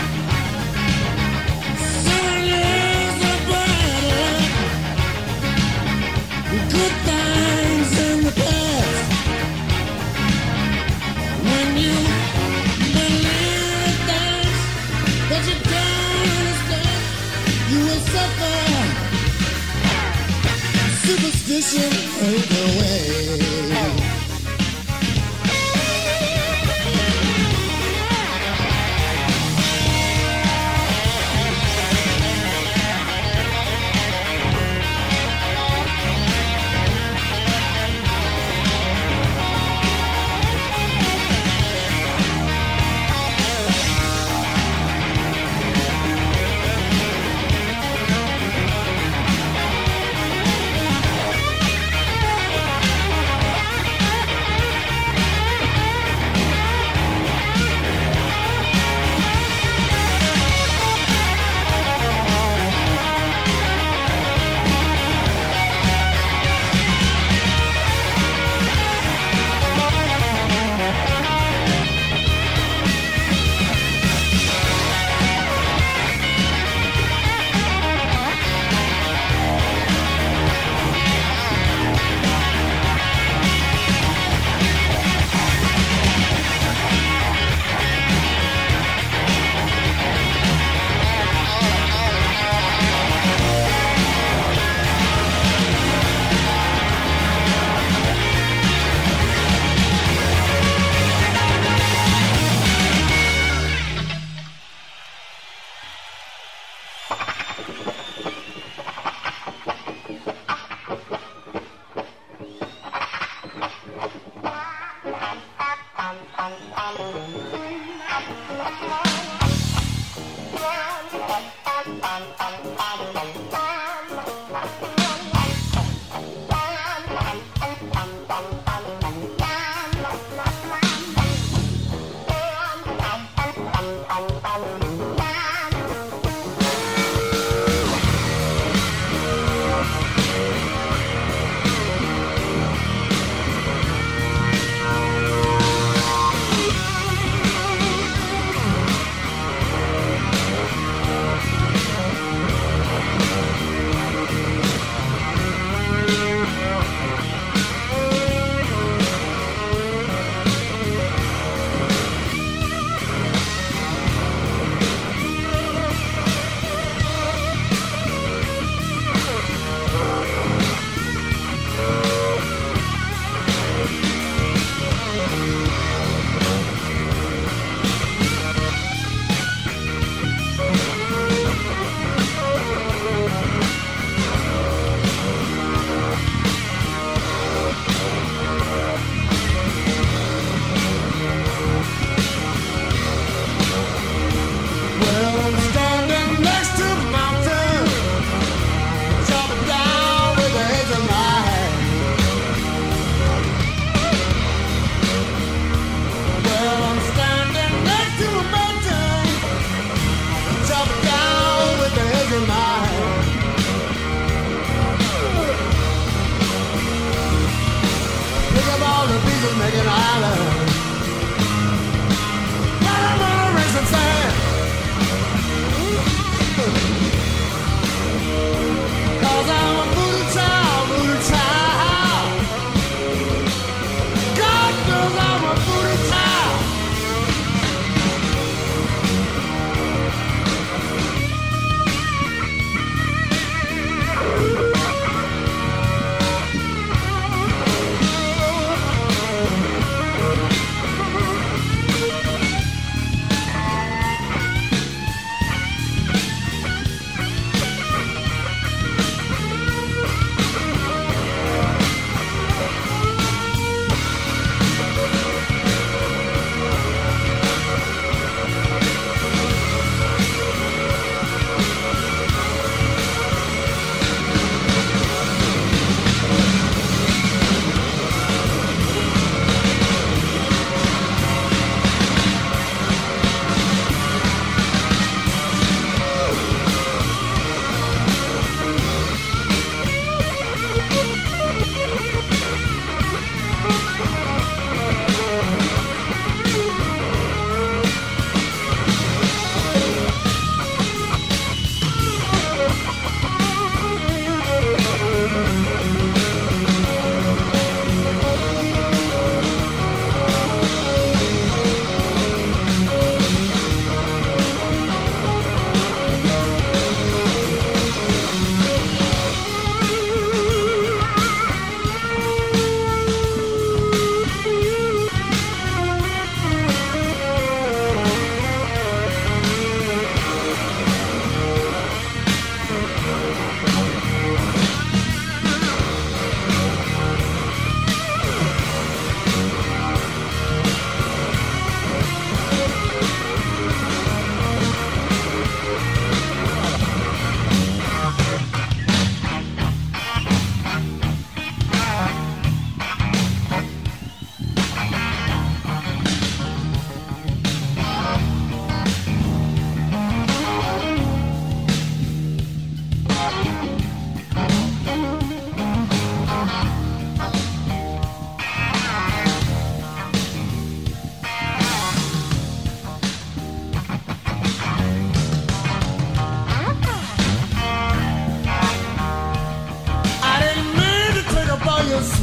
7 years of brighter. Good things in the past. When you believe things that you don't understand, you will suffer. Superstition ain't the way.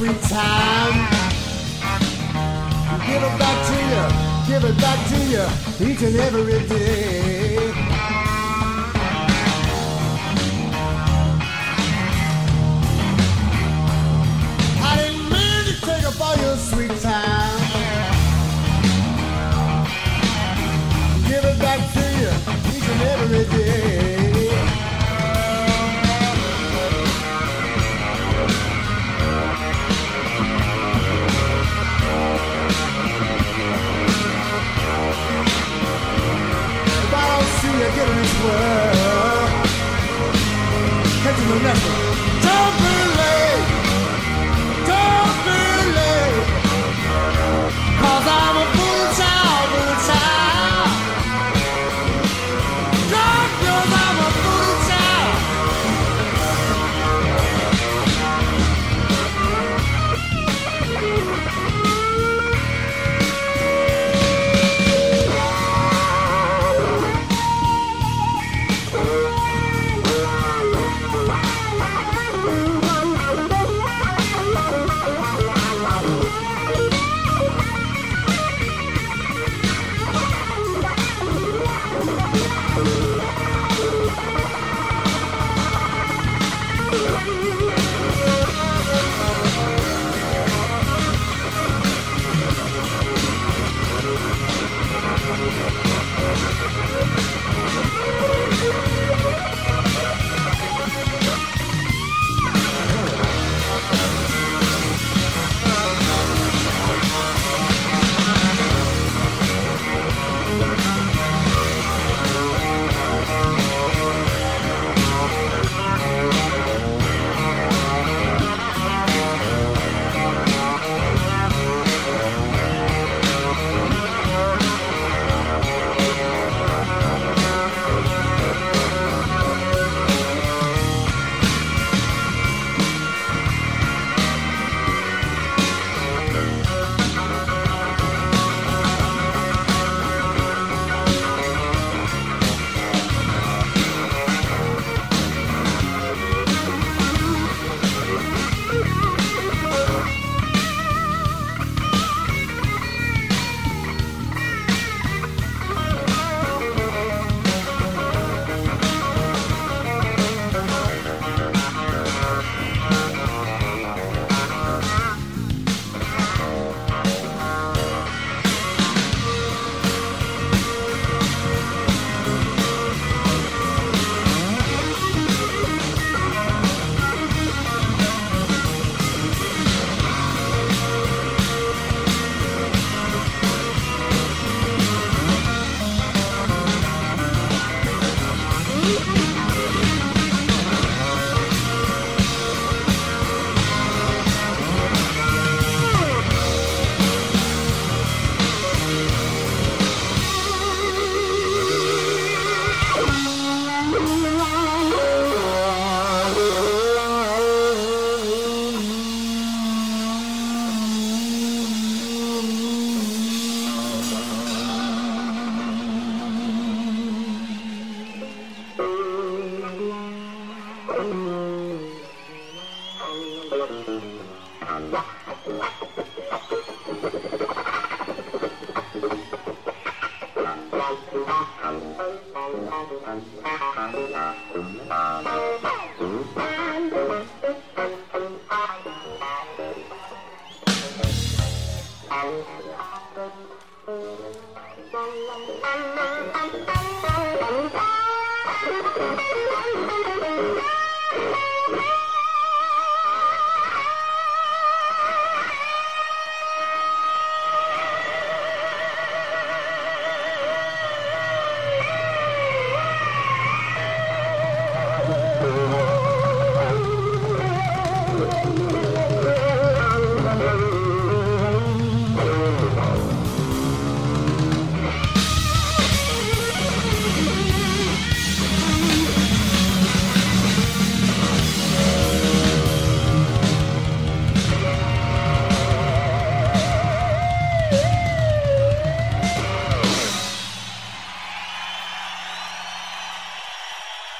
sweet time. Give it back to you, give it back to you each and every day. I didn't mean to take up all your sweet time. Give it back to you each and every day. Get in this world, catching the lesson. Don't be late, don't be late, 'cause I'm a fool child, fool child. God knows I'm a fool child.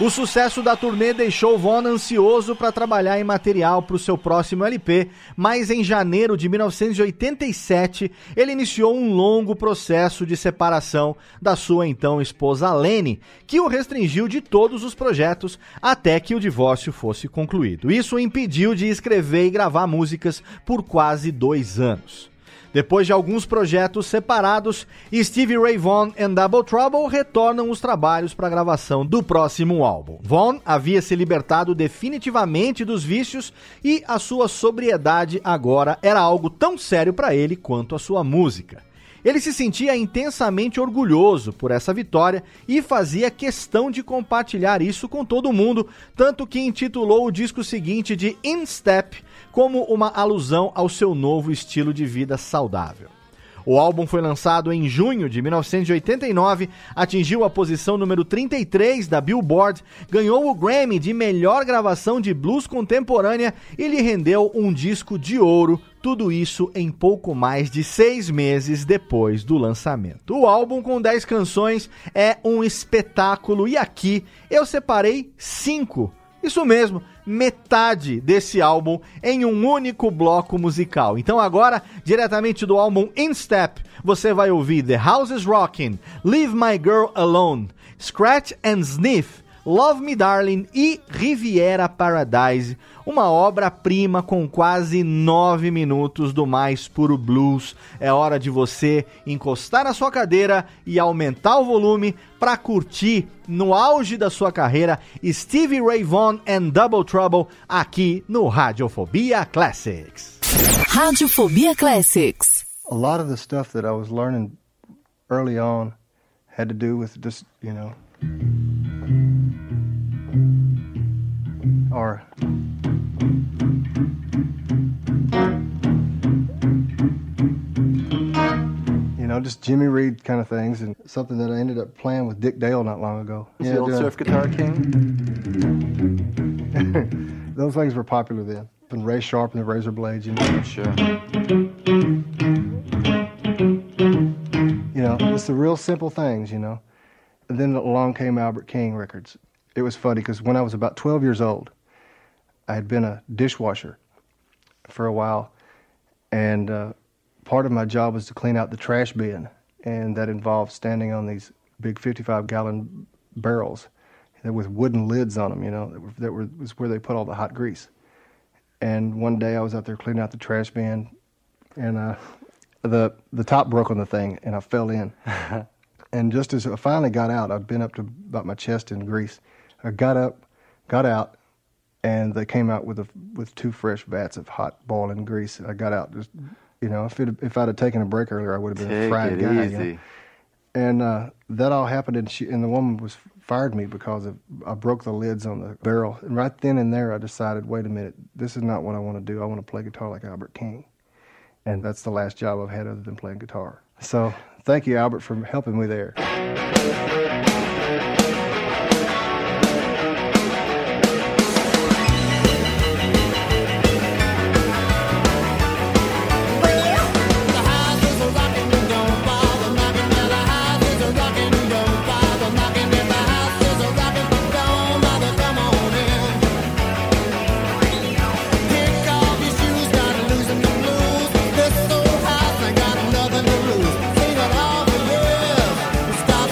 O sucesso da turnê deixou Vaughan ansioso para trabalhar em material para o seu próximo LP, mas em janeiro de 1987 ele iniciou um longo processo de separação da sua então esposa Lenny, que o restringiu de todos os projetos até que o divórcio fosse concluído. Isso o impediu de escrever e gravar músicas por quase 2 anos. Depois de alguns projetos separados, Stevie Ray Vaughan e Double Trouble retornam os trabalhos para a gravação do próximo álbum. Vaughan havia se libertado definitivamente dos vícios e a sua sobriedade agora era algo tão sério para ele quanto a sua música. Ele se sentia intensamente orgulhoso por essa vitória e fazia questão de compartilhar isso com todo mundo, tanto que intitulou o disco seguinte de In Step, como uma alusão ao seu novo estilo de vida saudável. O álbum foi lançado em junho de 1989, atingiu a posição número 33 da Billboard, ganhou o Grammy de melhor gravação de blues contemporânea e lhe rendeu um disco de ouro, tudo isso em pouco mais de 6 meses depois do lançamento. O álbum, com 10 canções, é um espetáculo e aqui eu separei 5. Isso mesmo, metade desse álbum em um único bloco musical. Então agora, diretamente do álbum In Step, você vai ouvir The House is Rockin', Leave My Girl Alone, Scratch and Sniff, Love Me Darling e Riviera Paradise, uma obra-prima com quase 9 minutos do mais puro blues. É hora de você encostar na sua cadeira e aumentar o volume para curtir, no auge da sua carreira, Stevie Ray Vaughan and Double Trouble aqui no Radiofobia Classics. Radiofobia Classics. A lot of the stuff that I was learning early on had to do with just, or just Jimmy Reed kind of things, and something that I ended up playing with Dick Dale not long ago. Is the old surf guitar king? Those things were popular then. And Ray Sharp and the Razor Blades, Sure. It's the real simple things, And then along came Albert King records. It was funny because when I was about 12 years old, I had been a dishwasher for a while, and part of my job was to clean out the trash bin, and that involved standing on these big 55-gallon barrels with wooden lids on them, that was where they put all the hot grease. And one day I was out there cleaning out the trash bin, and the top broke on the thing, and I fell in. And just as I finally got out, I'd been up to about my chest in grease. I got up, got out, and they came out with 2 fresh vats of hot boiling grease. I got out just, if I'd have taken a break earlier, I would have been a fried guy. Easy. And that all happened, and the woman fired me because I broke the lids on the barrel. And right then and there, I decided, wait a minute, this is not what I want to do. I want to play guitar like Albert King. And that's the last job I've had other than playing guitar. So thank you, Albert, for helping me there. Stop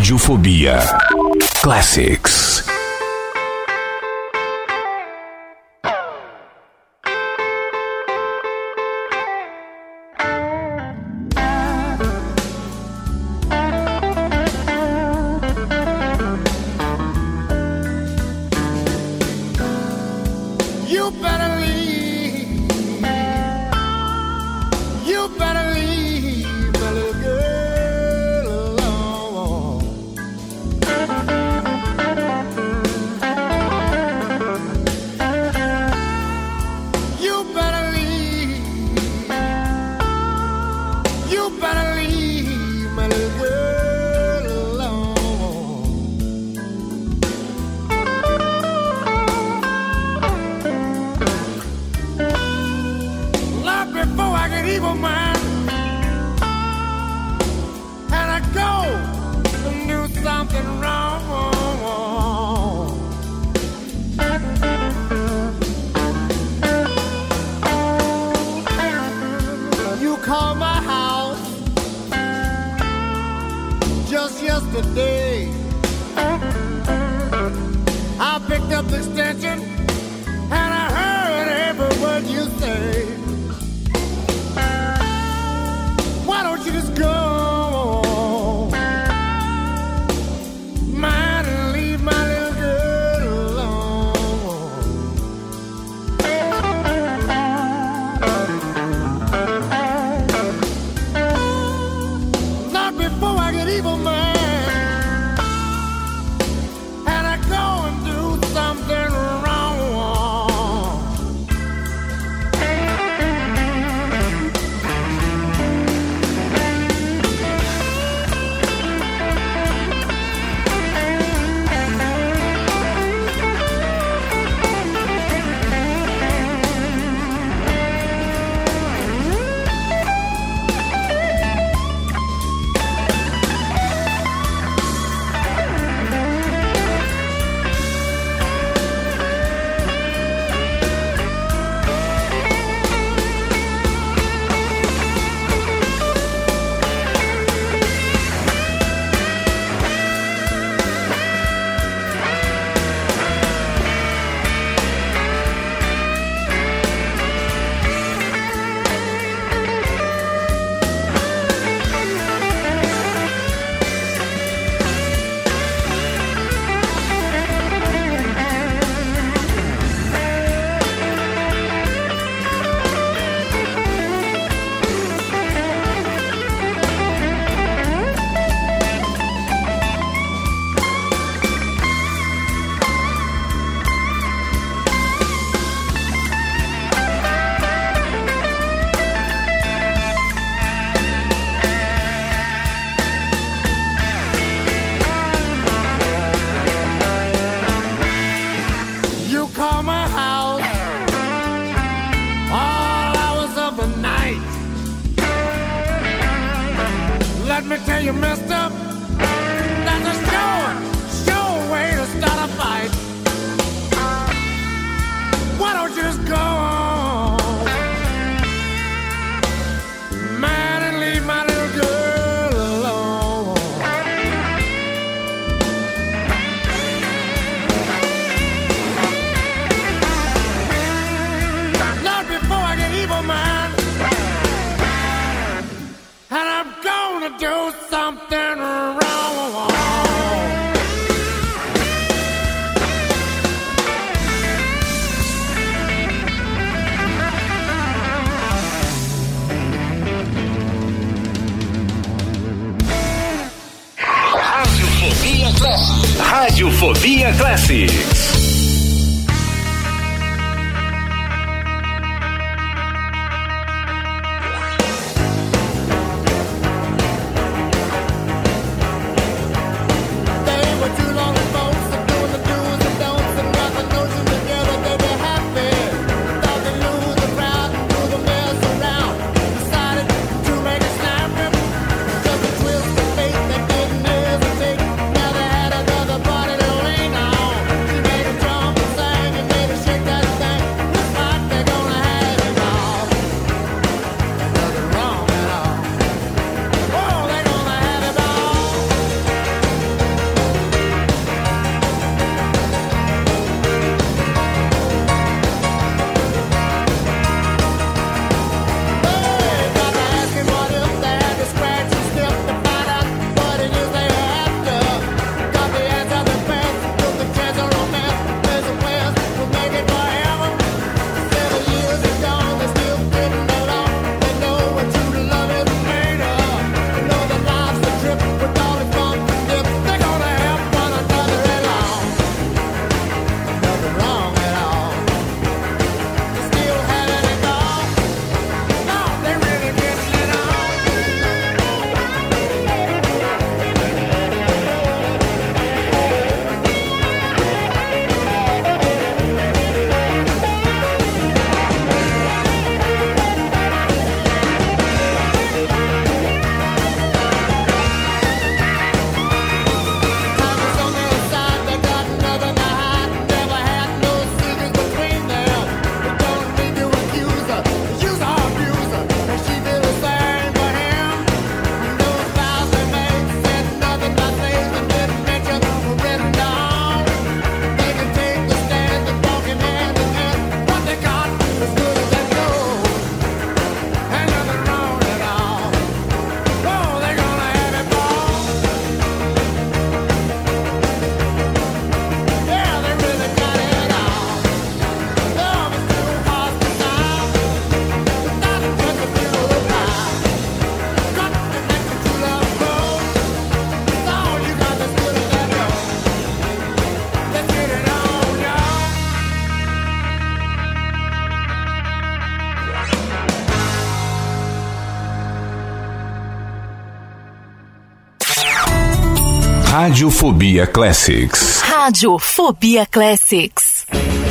Radiofobia Classics. You better leave. You better leave my little girl alone. You better leave. You better leave my little girl alone. Love before I get evil mind, and I go and do something wrong. You called my house just yesterday. I picked up the extension and I heard every word you say. Why don't you just go? Mind and leave my little girl alone. Not before I get evil, man. And I go and do something wrong. You call my house all hours of the night. Let me tell you, mister, that's a sure way to start a fight. Why don't you just go on, man, and leave my little girl alone? Not before I get evil, man. And I'm gonna do something wrong. Radiofobia Classics. They were two lonely folks doing the do's and don'ts and got the notion together they'd be happy. Thought they'd lose the crowd, do the mess around. Decided to make a snap rip, just a twist of fate that didn't hesitate. Now they had another party to lean on. She made a Radiofobia Classics. Radiofobia Classics.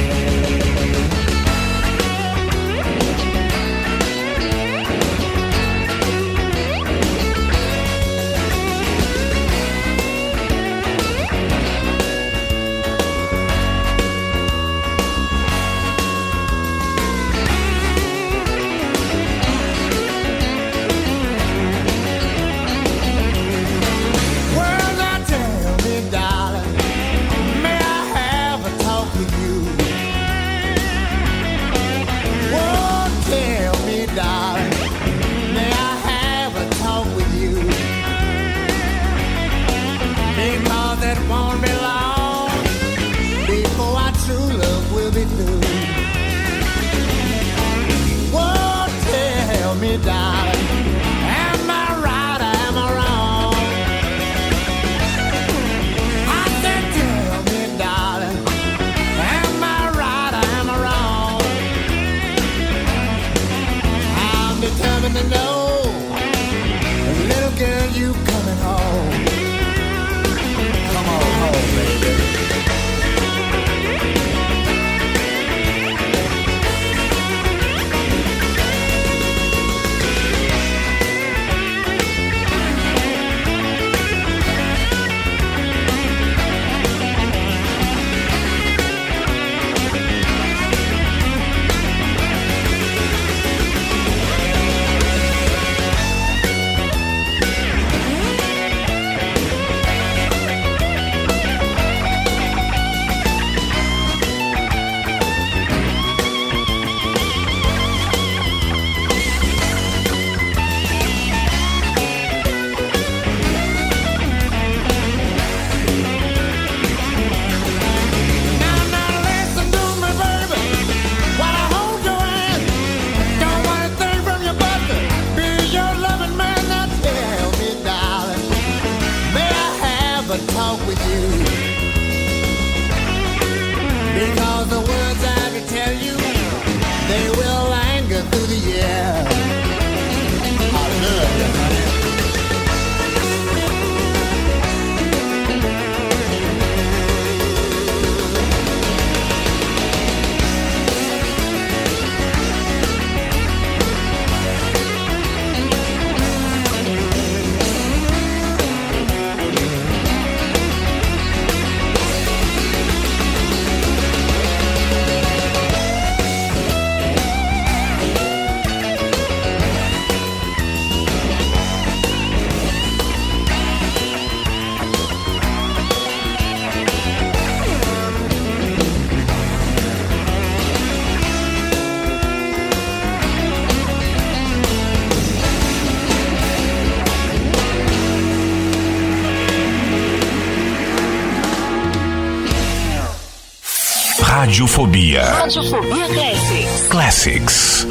Radiofobia. Radiofobia Classics. Classics.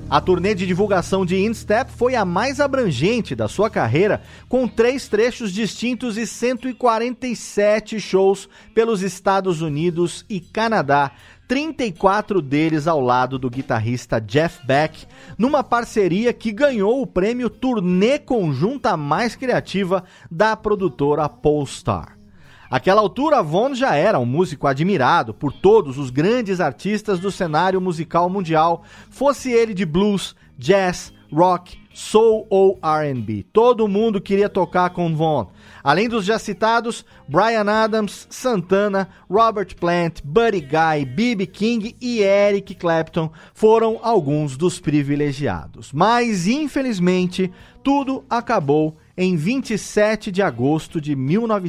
A turnê de divulgação de In Step foi a mais abrangente da sua carreira, com 3 trechos distintos e 147 shows pelos Estados Unidos e Canadá, 34 deles ao lado do guitarrista Jeff Beck, numa parceria que ganhou o prêmio Turnê Conjunta Mais Criativa da produtora Polestar. Àquela altura, Vaughn já era um músico admirado por todos os grandes artistas do cenário musical mundial, fosse ele de blues, jazz, rock, soul ou R&B. Todo mundo queria tocar com Vaughn. Além dos já citados, Bryan Adams, Santana, Robert Plant, Buddy Guy, B.B. King e Eric Clapton foram alguns dos privilegiados. Mas, infelizmente, tudo acabou em 27 de agosto de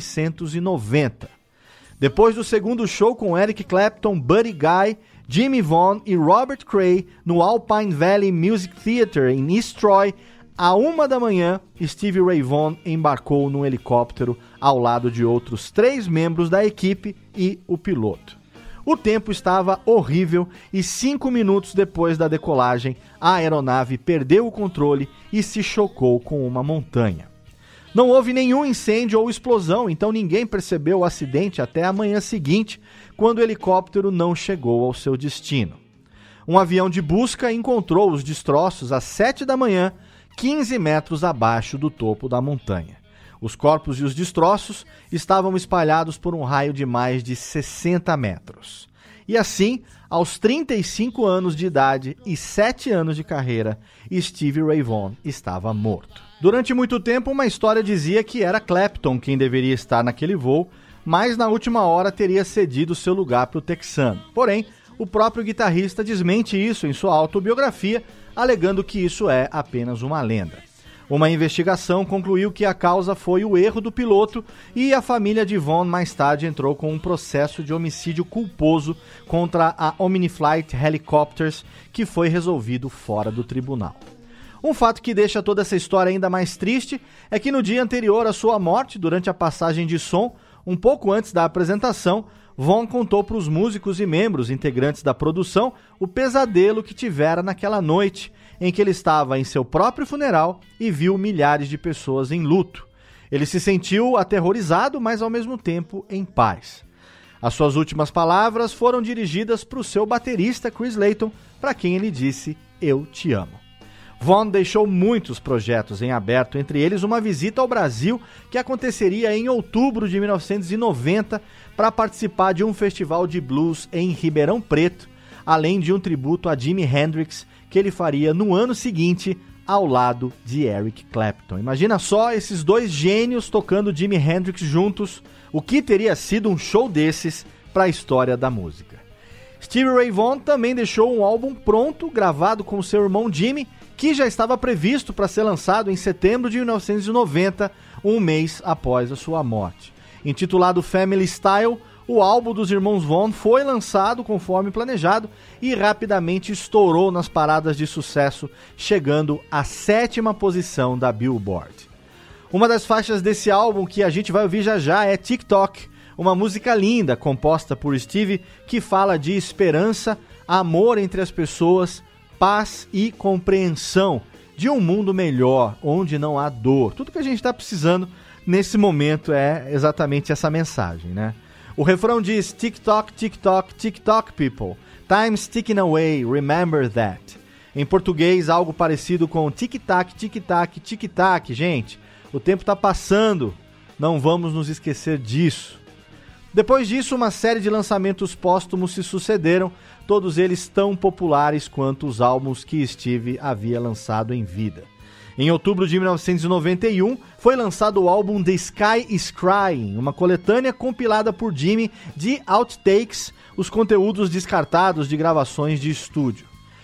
1990. Depois do segundo show com Eric Clapton, Buddy Guy, Jimmy Vaughn e Robert Cray no Alpine Valley Music Theater em East Troy, à 1 da manhã, Stevie Ray Vaughan embarcou num helicóptero ao lado de outros 3 membros da equipe e o piloto. O tempo estava horrível e 5 minutos depois da decolagem, a aeronave perdeu o controle e se chocou com uma montanha. Não houve nenhum incêndio ou explosão, então ninguém percebeu o acidente até a manhã seguinte, quando o helicóptero não chegou ao seu destino. Um avião de busca encontrou os destroços às 7 da manhã, 15 metros abaixo do topo da montanha. Os corpos e os destroços estavam espalhados por um raio de mais de 60 metros. E assim, aos 35 anos de idade e 7 anos de carreira, Stevie Ray Vaughan estava morto. Durante muito tempo, uma história dizia que era Clapton quem deveria estar naquele voo, mas na última hora teria cedido seu lugar para o texano. Porém, o próprio guitarrista desmente isso em sua autobiografia, alegando que isso é apenas uma lenda. Uma investigação concluiu que a causa foi o erro do piloto e a família de Vaughan mais tarde entrou com um processo de homicídio culposo contra a Omniflight Helicopters, que foi resolvido fora do tribunal. Um fato que deixa toda essa história ainda mais triste é que no dia anterior à sua morte, durante a passagem de som, um pouco antes da apresentação, Vaughan contou para os músicos e membros integrantes da produção o pesadelo que tivera naquela noite, em que ele estava em seu próprio funeral e viu milhares de pessoas em luto. Ele se sentiu aterrorizado, mas ao mesmo tempo em paz. As suas últimas palavras foram dirigidas para o seu baterista Chris Layton, para quem ele disse: "Eu te amo". Vaughan deixou muitos projetos em aberto, entre eles uma visita ao Brasil que aconteceria em outubro de 1990 para participar de um festival de blues em Ribeirão Preto, além de um tributo a Jimi Hendrix que ele faria no ano seguinte ao lado de Eric Clapton. Imagina só esses 2 gênios tocando Jimi Hendrix juntos, o que teria sido um show desses para a história da música. Stevie Ray Vaughan também deixou um álbum pronto, gravado com seu irmão Jimmy, que já estava previsto para ser lançado em setembro de 1990, um mês após a sua morte. Intitulado Family Style, o álbum dos irmãos Vaughan foi lançado conforme planejado e rapidamente estourou nas paradas de sucesso, chegando à 7ª posição da Billboard. Uma das faixas desse álbum que a gente vai ouvir já já é TikTok, uma música linda composta por Stevie que fala de esperança, amor entre as pessoas, paz e compreensão de um mundo melhor, onde não há dor. Tudo que a gente está precisando nesse momento é exatamente essa mensagem, né? O refrão diz: "Tick-tock, tick-tock, tick-tock, people. Time's ticking away, remember that." Em português, algo parecido com tic-tac, tic-tac, tic-tac. Gente, o tempo está passando, não vamos nos esquecer disso. Depois disso, uma série de lançamentos póstumos se sucederam, todos eles tão populares quanto os álbuns que Stevie havia lançado em vida. Em outubro de 1991, foi lançado o álbum The Sky is Crying, uma coletânea compilada por Jimmy de outtakes, os conteúdos descartados de gravações de estúdio.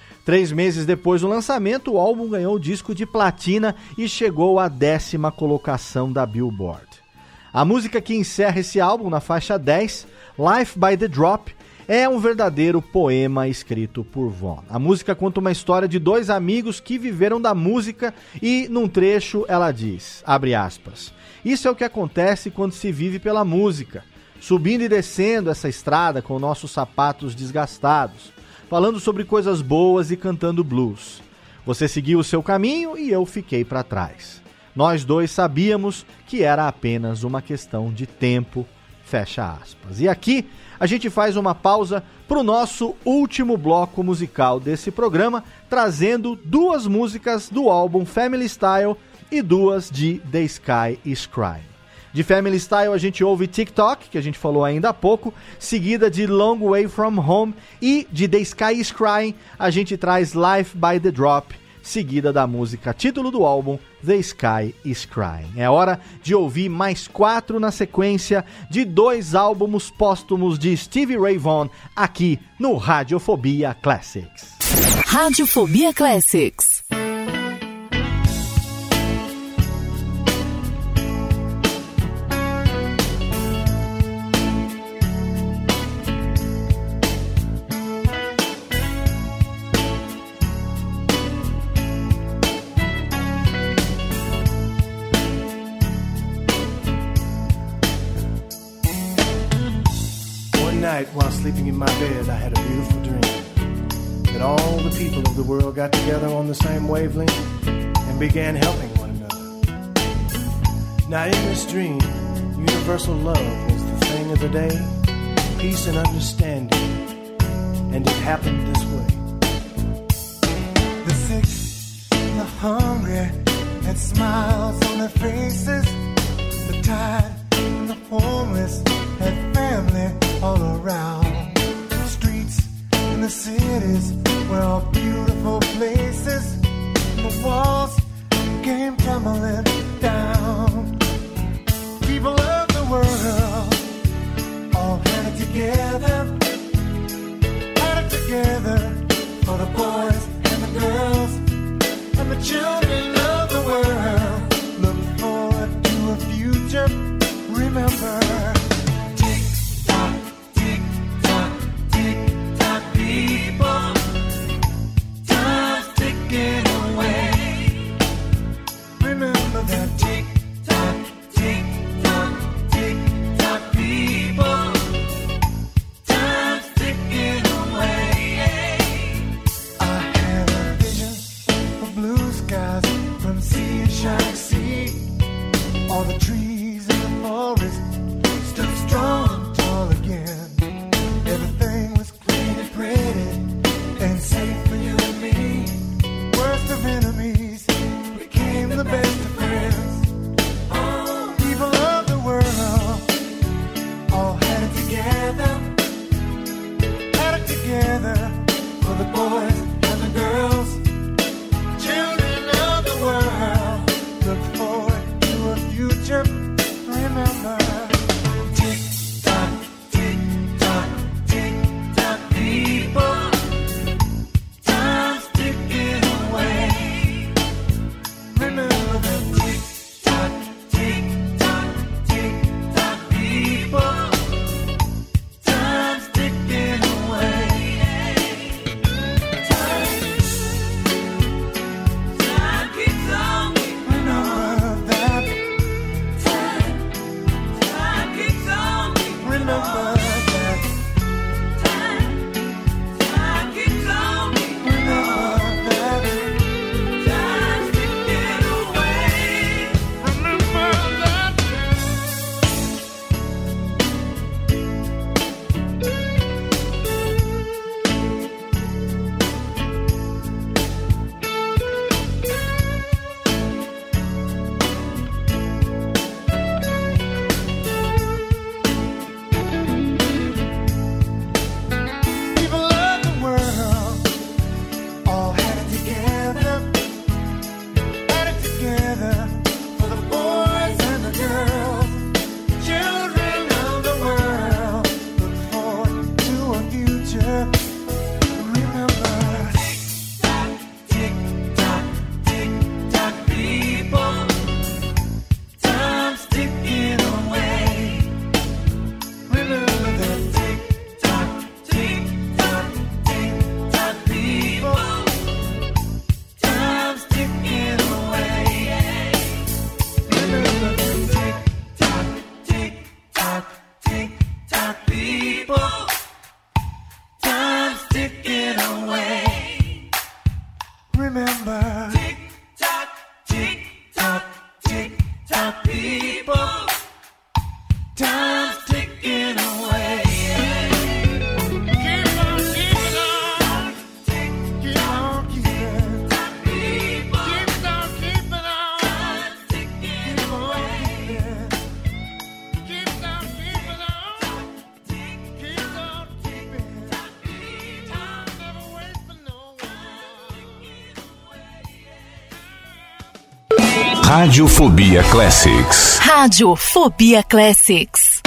3 meses depois do lançamento, o álbum ganhou o disco de platina e chegou à 10ª colocação da Billboard. A música que encerra esse álbum, na faixa 10, Life by the Drop, é um verdadeiro poema escrito por Vaughan. A música conta uma história de 2 amigos que viveram da música e, num trecho, ela diz, abre aspas, "Isso é o que acontece quando se vive pela música, subindo e descendo essa estrada com nossos sapatos desgastados, falando sobre coisas boas e cantando blues. Você seguiu o seu caminho e eu fiquei para trás. Nós dois sabíamos que era apenas uma questão de tempo, fecha aspas. E aqui a gente faz uma pausa para o nosso último bloco musical desse programa, trazendo 2 músicas do álbum Family Style e 2 de The Sky is Crying. De Family Style a gente ouve TikTok, que a gente falou ainda há pouco, seguida de Long Way From Home, e de The Sky is Crying a gente traz Life by the Drop, seguida da música título do álbum The Sky is Crying. É hora de ouvir mais 4 na sequência de 2 álbuns póstumos de Stevie Ray Vaughan aqui no Radiofobia Classics. Radiofobia Classics. While sleeping in my bed, I had a beautiful dream that all the people of the world got together on the same wavelength and began helping one another. Now in this dream, universal love was the thing of the day, peace and understanding, and it happened this way. The sick and the hungry had smiles on their faces. The tired and the homeless had family all around. The streets and the cities were all beautiful places. And the walls came tumbling down. People of the world all had it together. Had it together for the boys and the girls and the children of the world. Look forward to a future. Remember, tick-tock, tick-tock, tick-tock, people. Time's ticking away. Remember that tick-tock, tick-tock, tick-tock, people. Time's ticking away. I had a vision of blue skies from sea to shining sea. All the trees in the forest stood strong and tall again. Everything was clean and pretty and safe for you and me. Worst of enemies became the best of friends. People of the world all had it together. Had it together for the boys and the girls. Children of the world look forward to a future. Remember, tick-tock, tick-tock, tick-tock, people. Time's ticking away. Remember that tick-tock, tick-tock, tick-tock, people. Time's ticking away. Time keeps on. Remember that. Time keeps on. Remember that. Time keeps on. Remember that. Time's ticking away. Remember that. Radiofobia Classics. Radiofobia Classics.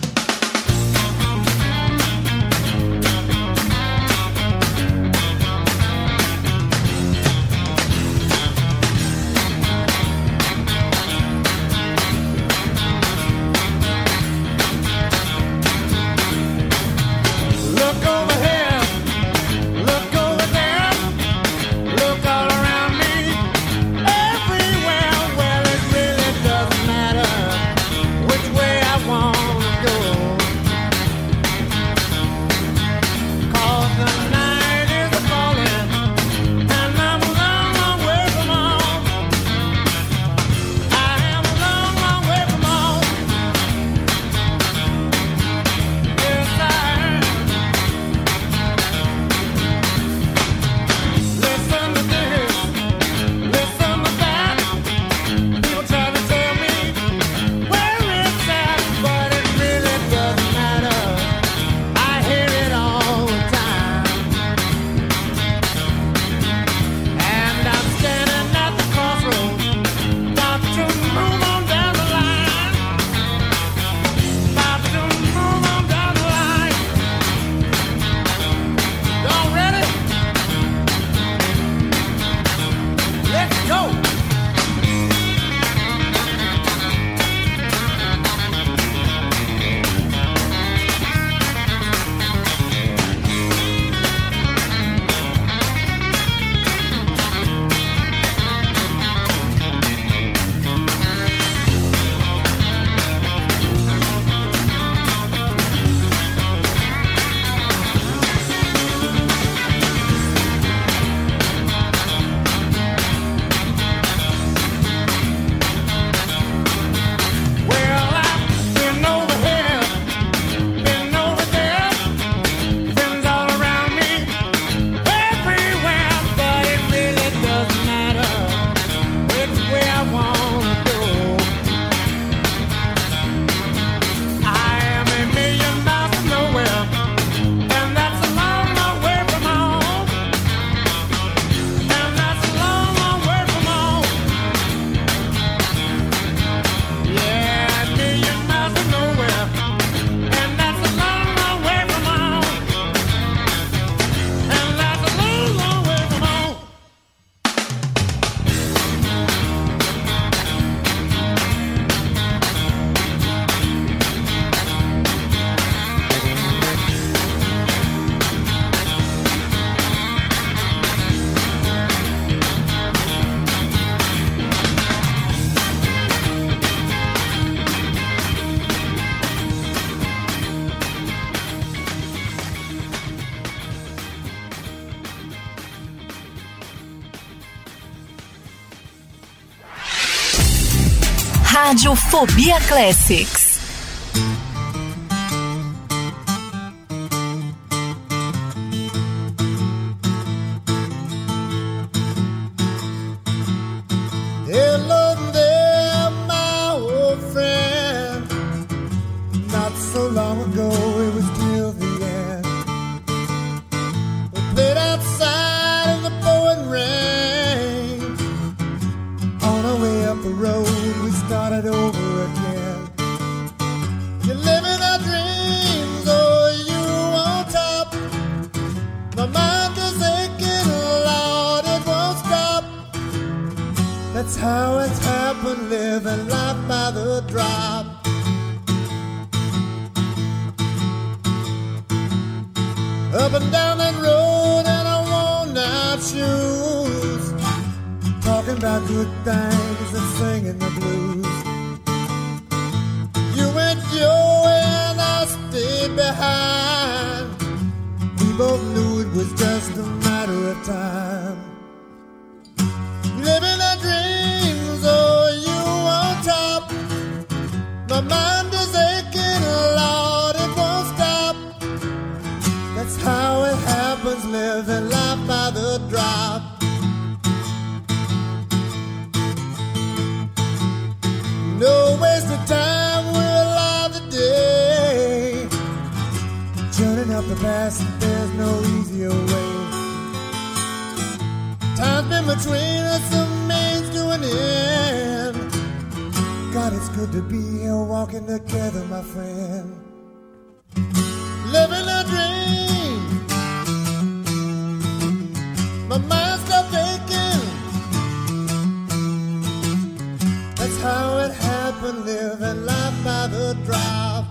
Radiofobia Classics. Hello there, my old friend. Not so long ago, it was till the end. We played outside in the pouring rain. On our way up the road, we started over again. You're living our dreams, oh, you on top. My mind is aching, Lord, it won't stop. That's how it's happened, living life by the drop. Up and down that road in our worn-out shoes, talking about good things and singing the blues. You went your way and I stayed behind. We both knew it was just a matter of time. Living our dreams, oh, you on top. My mind is aching, Lord, it won't stop. That's how it happens, living life by the drop. No waste of time, we're alive today. Journeying up the past, there's no easier way. Time's been between us, a means to an end. good to be here walking together, my friend. Living a dream. My mind's still aching. That's how it happened, living life by the drop.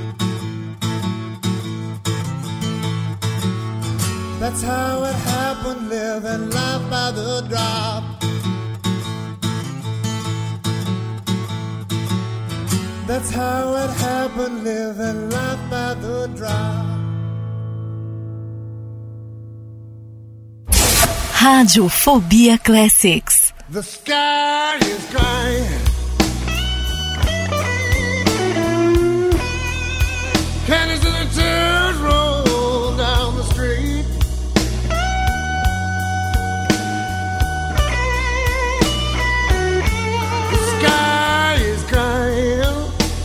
That's how it happened, living life by the drop. That's how it happened, living life by the drop. Rádio Fobia Classics. The sky is crying. Canyons and the tears roll down the street. The sky is crying.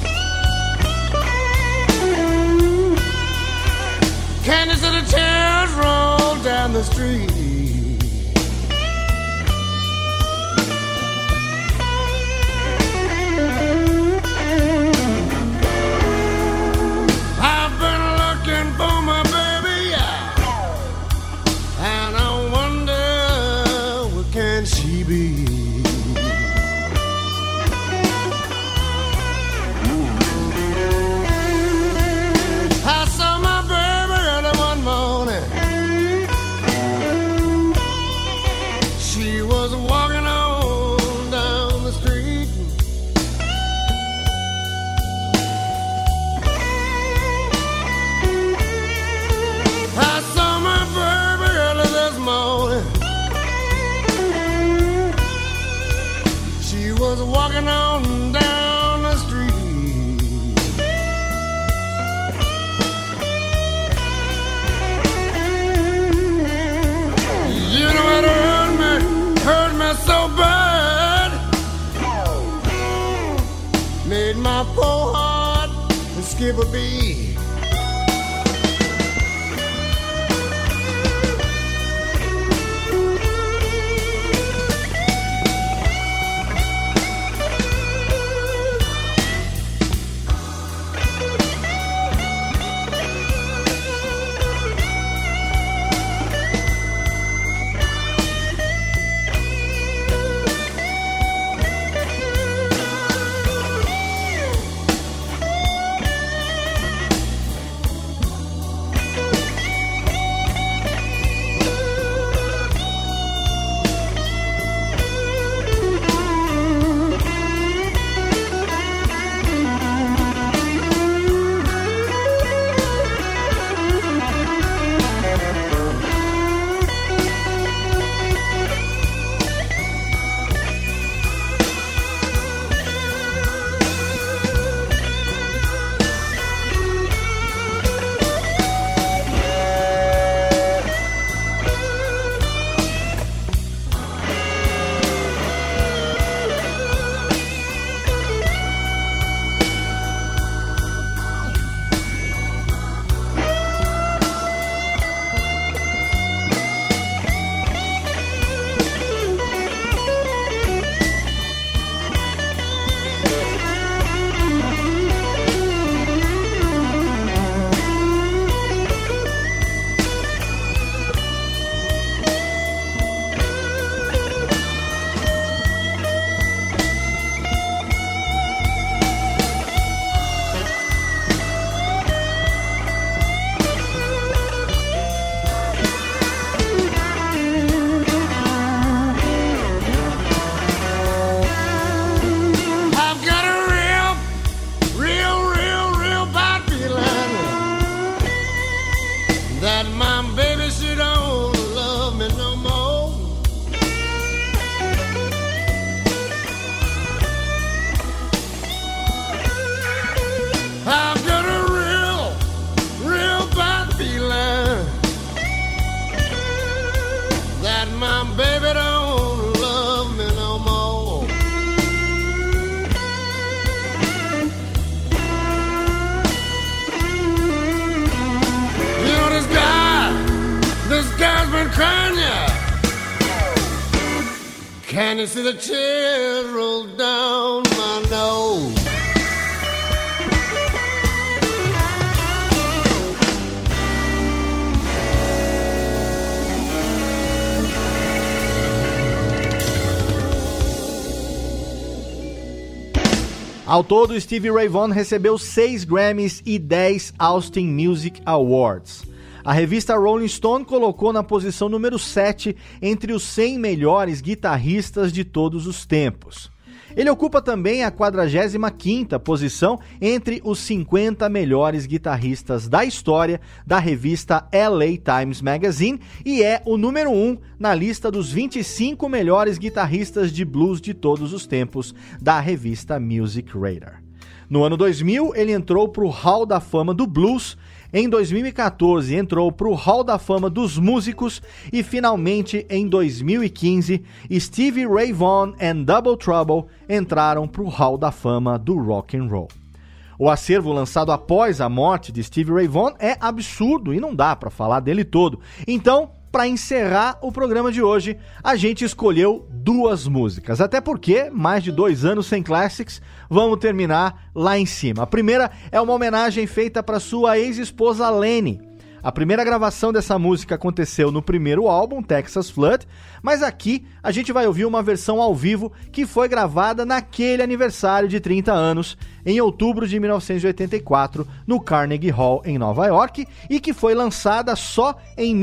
Canyons and the tears roll down the street. Walking on down the street. You know it hurt me so bad. Made my poor heart skip a beat. Can you see the tears roll down my nose? Ao todo, Stevie Ray Vaughan recebeu 6 Grammys e 10 Austin Music Awards. A revista Rolling Stone colocou na posição número 7 entre os 100 melhores guitarristas de todos os tempos. Ele ocupa também a 45ª posição entre os 50 melhores guitarristas da história da revista LA Times Magazine e é o número 1 na lista dos 25 melhores guitarristas de blues de todos os tempos da revista Music Radar. No ano 2000, ele entrou para o Hall da Fama do Blues. Em 2014, entrou para o Hall da Fama dos Músicos e, finalmente, em 2015, Stevie Ray Vaughan e Double Trouble entraram para o Hall da Fama do Rock and Roll. O acervo lançado após a morte de Stevie Ray Vaughan é absurdo e não dá para falar dele todo. Então, para encerrar o programa de hoje, a gente escolheu 2 músicas, até porque, mais de 2 anos sem Classics, vamos terminar lá em cima. A primeira é uma homenagem feita para sua ex-esposa Lenny. A primeira gravação dessa música aconteceu no primeiro álbum, Texas Flood, mas aqui a gente vai ouvir uma versão ao vivo que foi gravada naquele aniversário de 30 anos, em outubro de 1984, no Carnegie Hall, em Nova York, e que foi lançada só em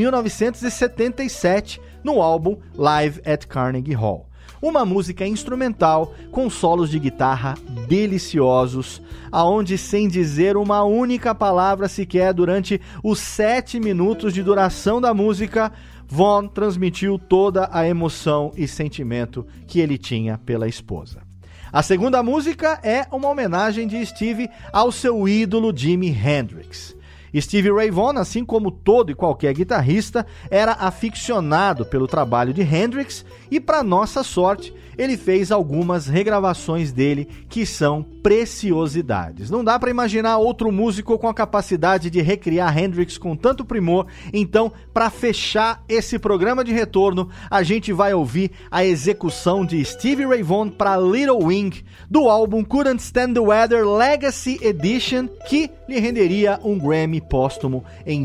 1977, no álbum Live at Carnegie Hall. Uma música instrumental com solos de guitarra deliciosos, aonde, sem dizer uma única palavra sequer durante os 7 minutos de duração da música, Vaughan transmitiu toda a emoção e sentimento que ele tinha pela esposa. A segunda música é uma homenagem de Stevie ao seu ídolo Jimi Hendrix. Stevie Ray Vaughan, assim como todo e qualquer guitarrista, era aficionado pelo trabalho de Hendrix e, para nossa sorte, ele fez algumas regravações dele que são preciosidades. Não dá para imaginar outro músico com a capacidade de recriar Hendrix com tanto primor. Então, para fechar esse programa de retorno, a gente vai ouvir a execução de Stevie Ray Vaughan para Little Wing, do álbum Couldn't Stand the Weather Legacy Edition, que lhe renderia um Grammy póstumo em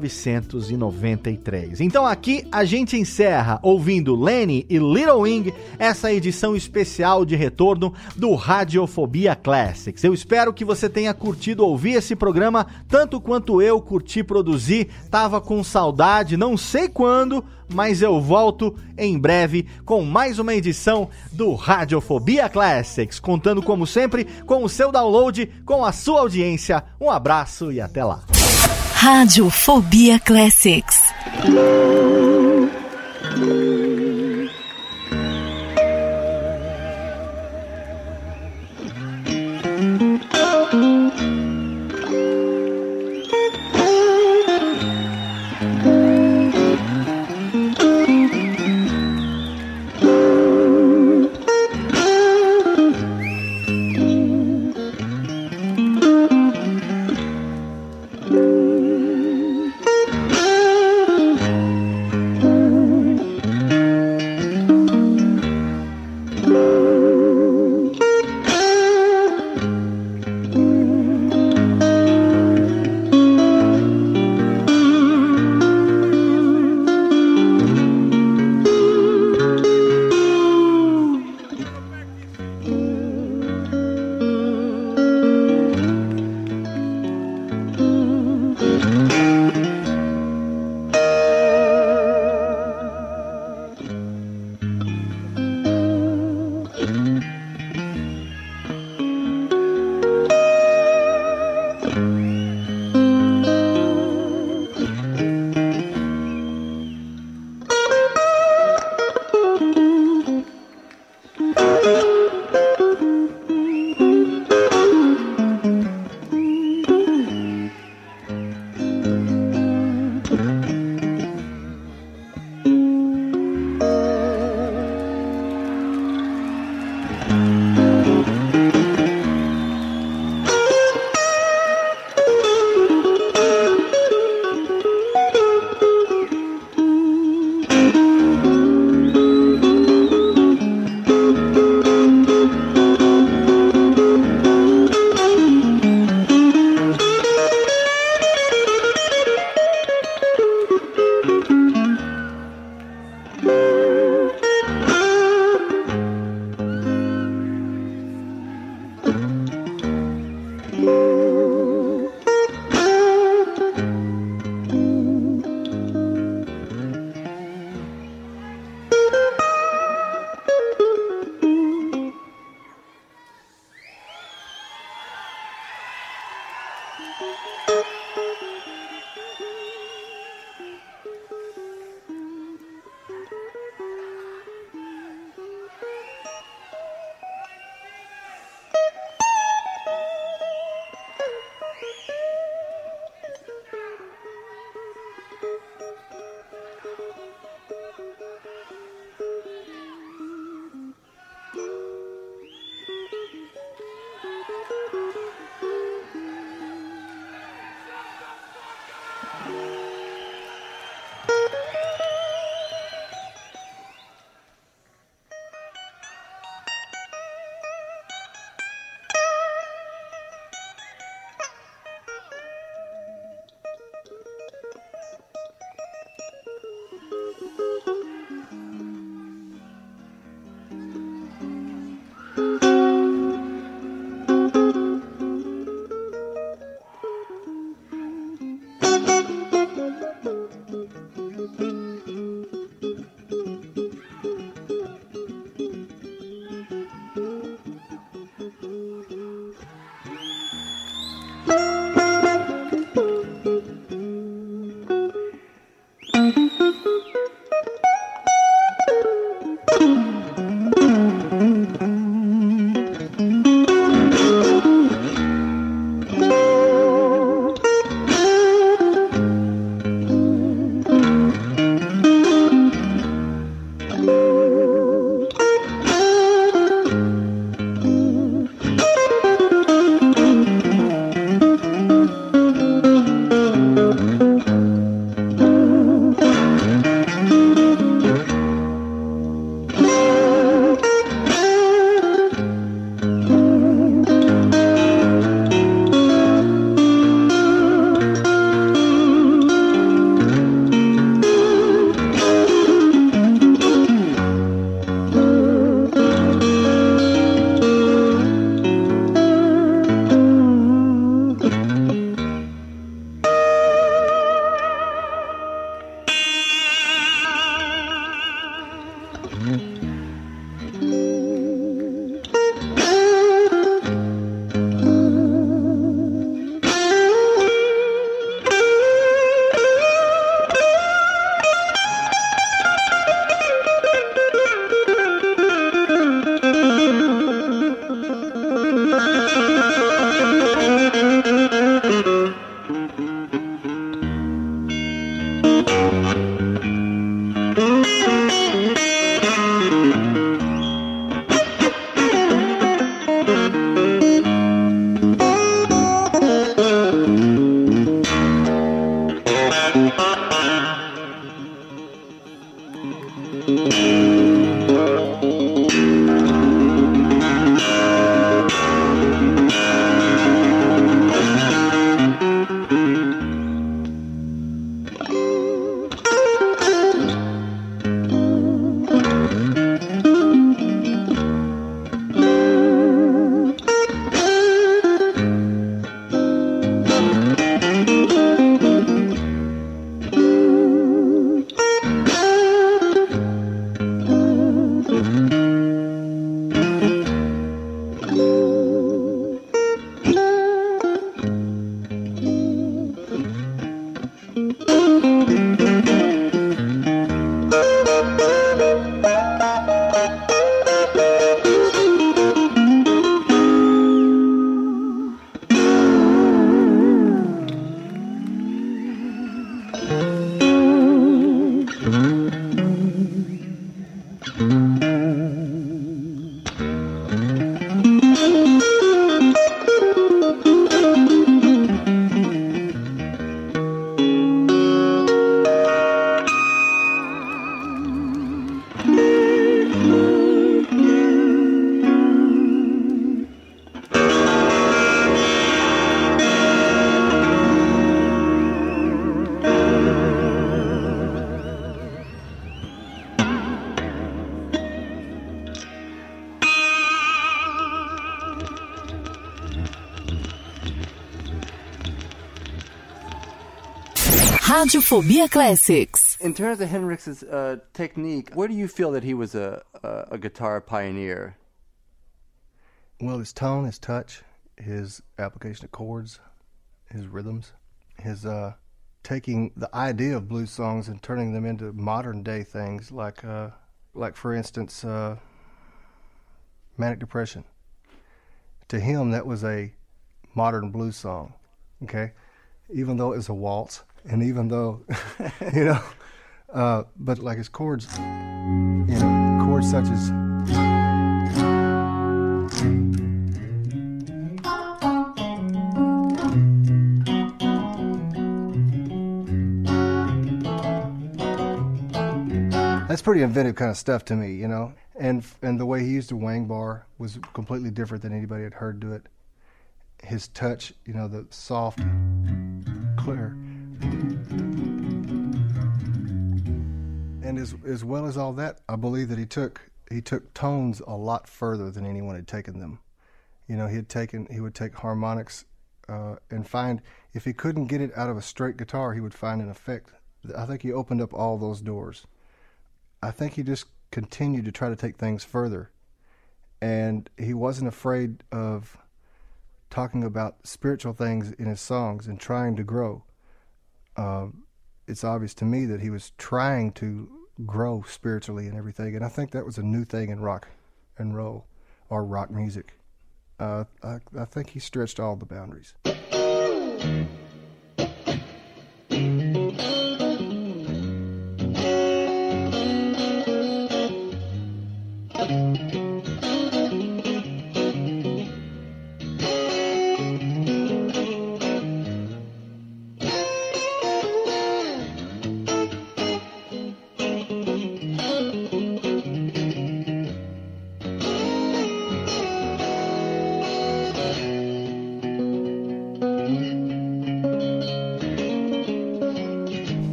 1993. Então aqui a gente encerra ouvindo Lenny e Little Wing, essa edição especial de retorno do Radiofobia Classics. Eu espero que você tenha curtido ouvir esse programa tanto quanto eu curti produzir. Tava com saudade, não sei quando, mas eu volto em breve com mais uma edição do Radiofobia Classics, contando como sempre com o seu download, com a sua audiência. Um abraço e até lá. Radiofobia Classics. Radiofobia Classics. In terms of Hendrix's technique, where do you feel that he was a guitar pioneer? Well, his tone, his touch, his application of chords, his rhythms, his taking the idea of blues songs and turning them into modern day things, like for instance, Manic Depression. To him, that was a modern blues song, okay? Even though it was a waltz, and even though, but like his chords, chords such as... That's pretty inventive kind of stuff to me, And the way he used the wang bar was completely different than anybody had heard do it. His touch, the soft, clear. And as well as all that, I believe that he took tones a lot further than anyone had taken them. He would take harmonics and find, if he couldn't get it out of a straight guitar, he would find an effect. I think he opened up all those doors. I think he just continued to try to take things further, and he wasn't afraid of talking about spiritual things in his songs and trying to grow. It's obvious to me that he was trying to grow spiritually and everything, and I think that was a new thing in rock and roll, or rock music. I think he stretched all the boundaries.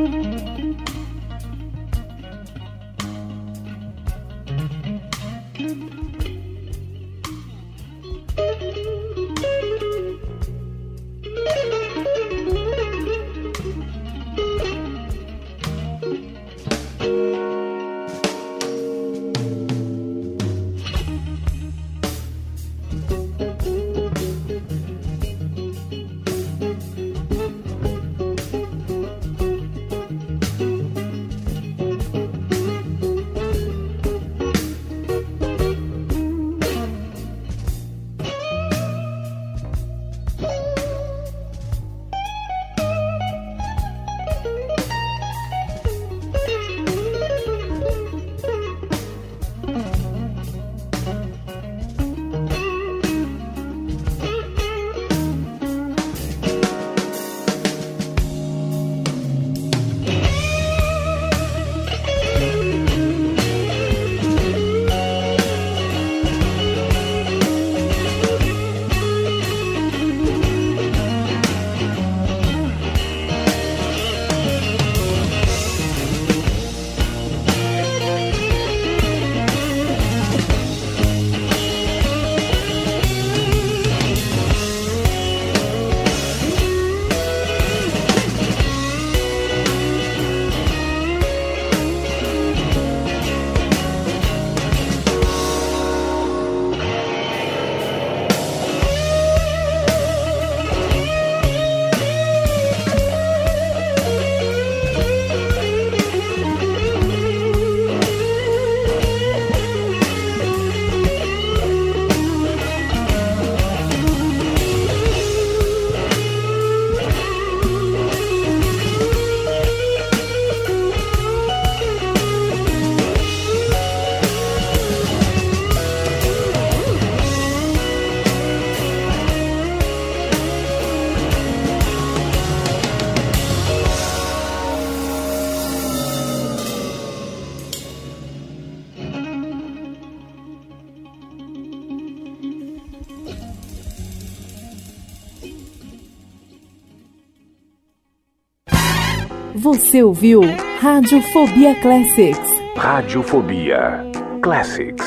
Você ouviu Radiofobia Classics. Radiofobia Classics.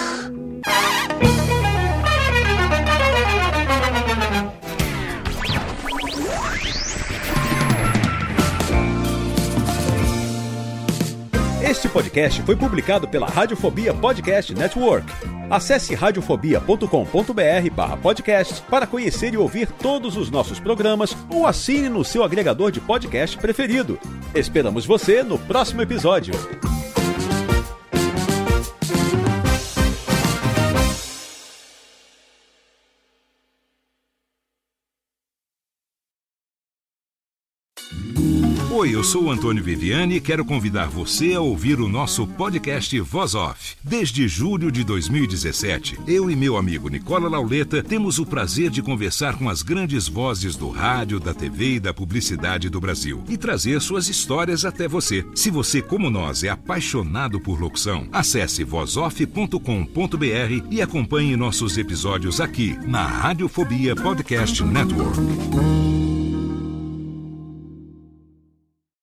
Este podcast foi publicado pela Radiofobia Podcast Network. Acesse radiofobia.com.br/podcast para conhecer e ouvir todos os nossos programas ou assine no seu agregador de podcast preferido. Esperamos você no próximo episódio. Oi, eu sou o Antônio Viviani e quero convidar você a ouvir o nosso podcast Voz Off. Desde julho de 2017, eu e meu amigo Nicola Lauleta temos o prazer de conversar com as grandes vozes do rádio, da TV e da publicidade do Brasil e trazer suas histórias até você. Se você, como nós, é apaixonado por locução, acesse vozoff.com.br e acompanhe nossos episódios aqui na Radiofobia Podcast Network.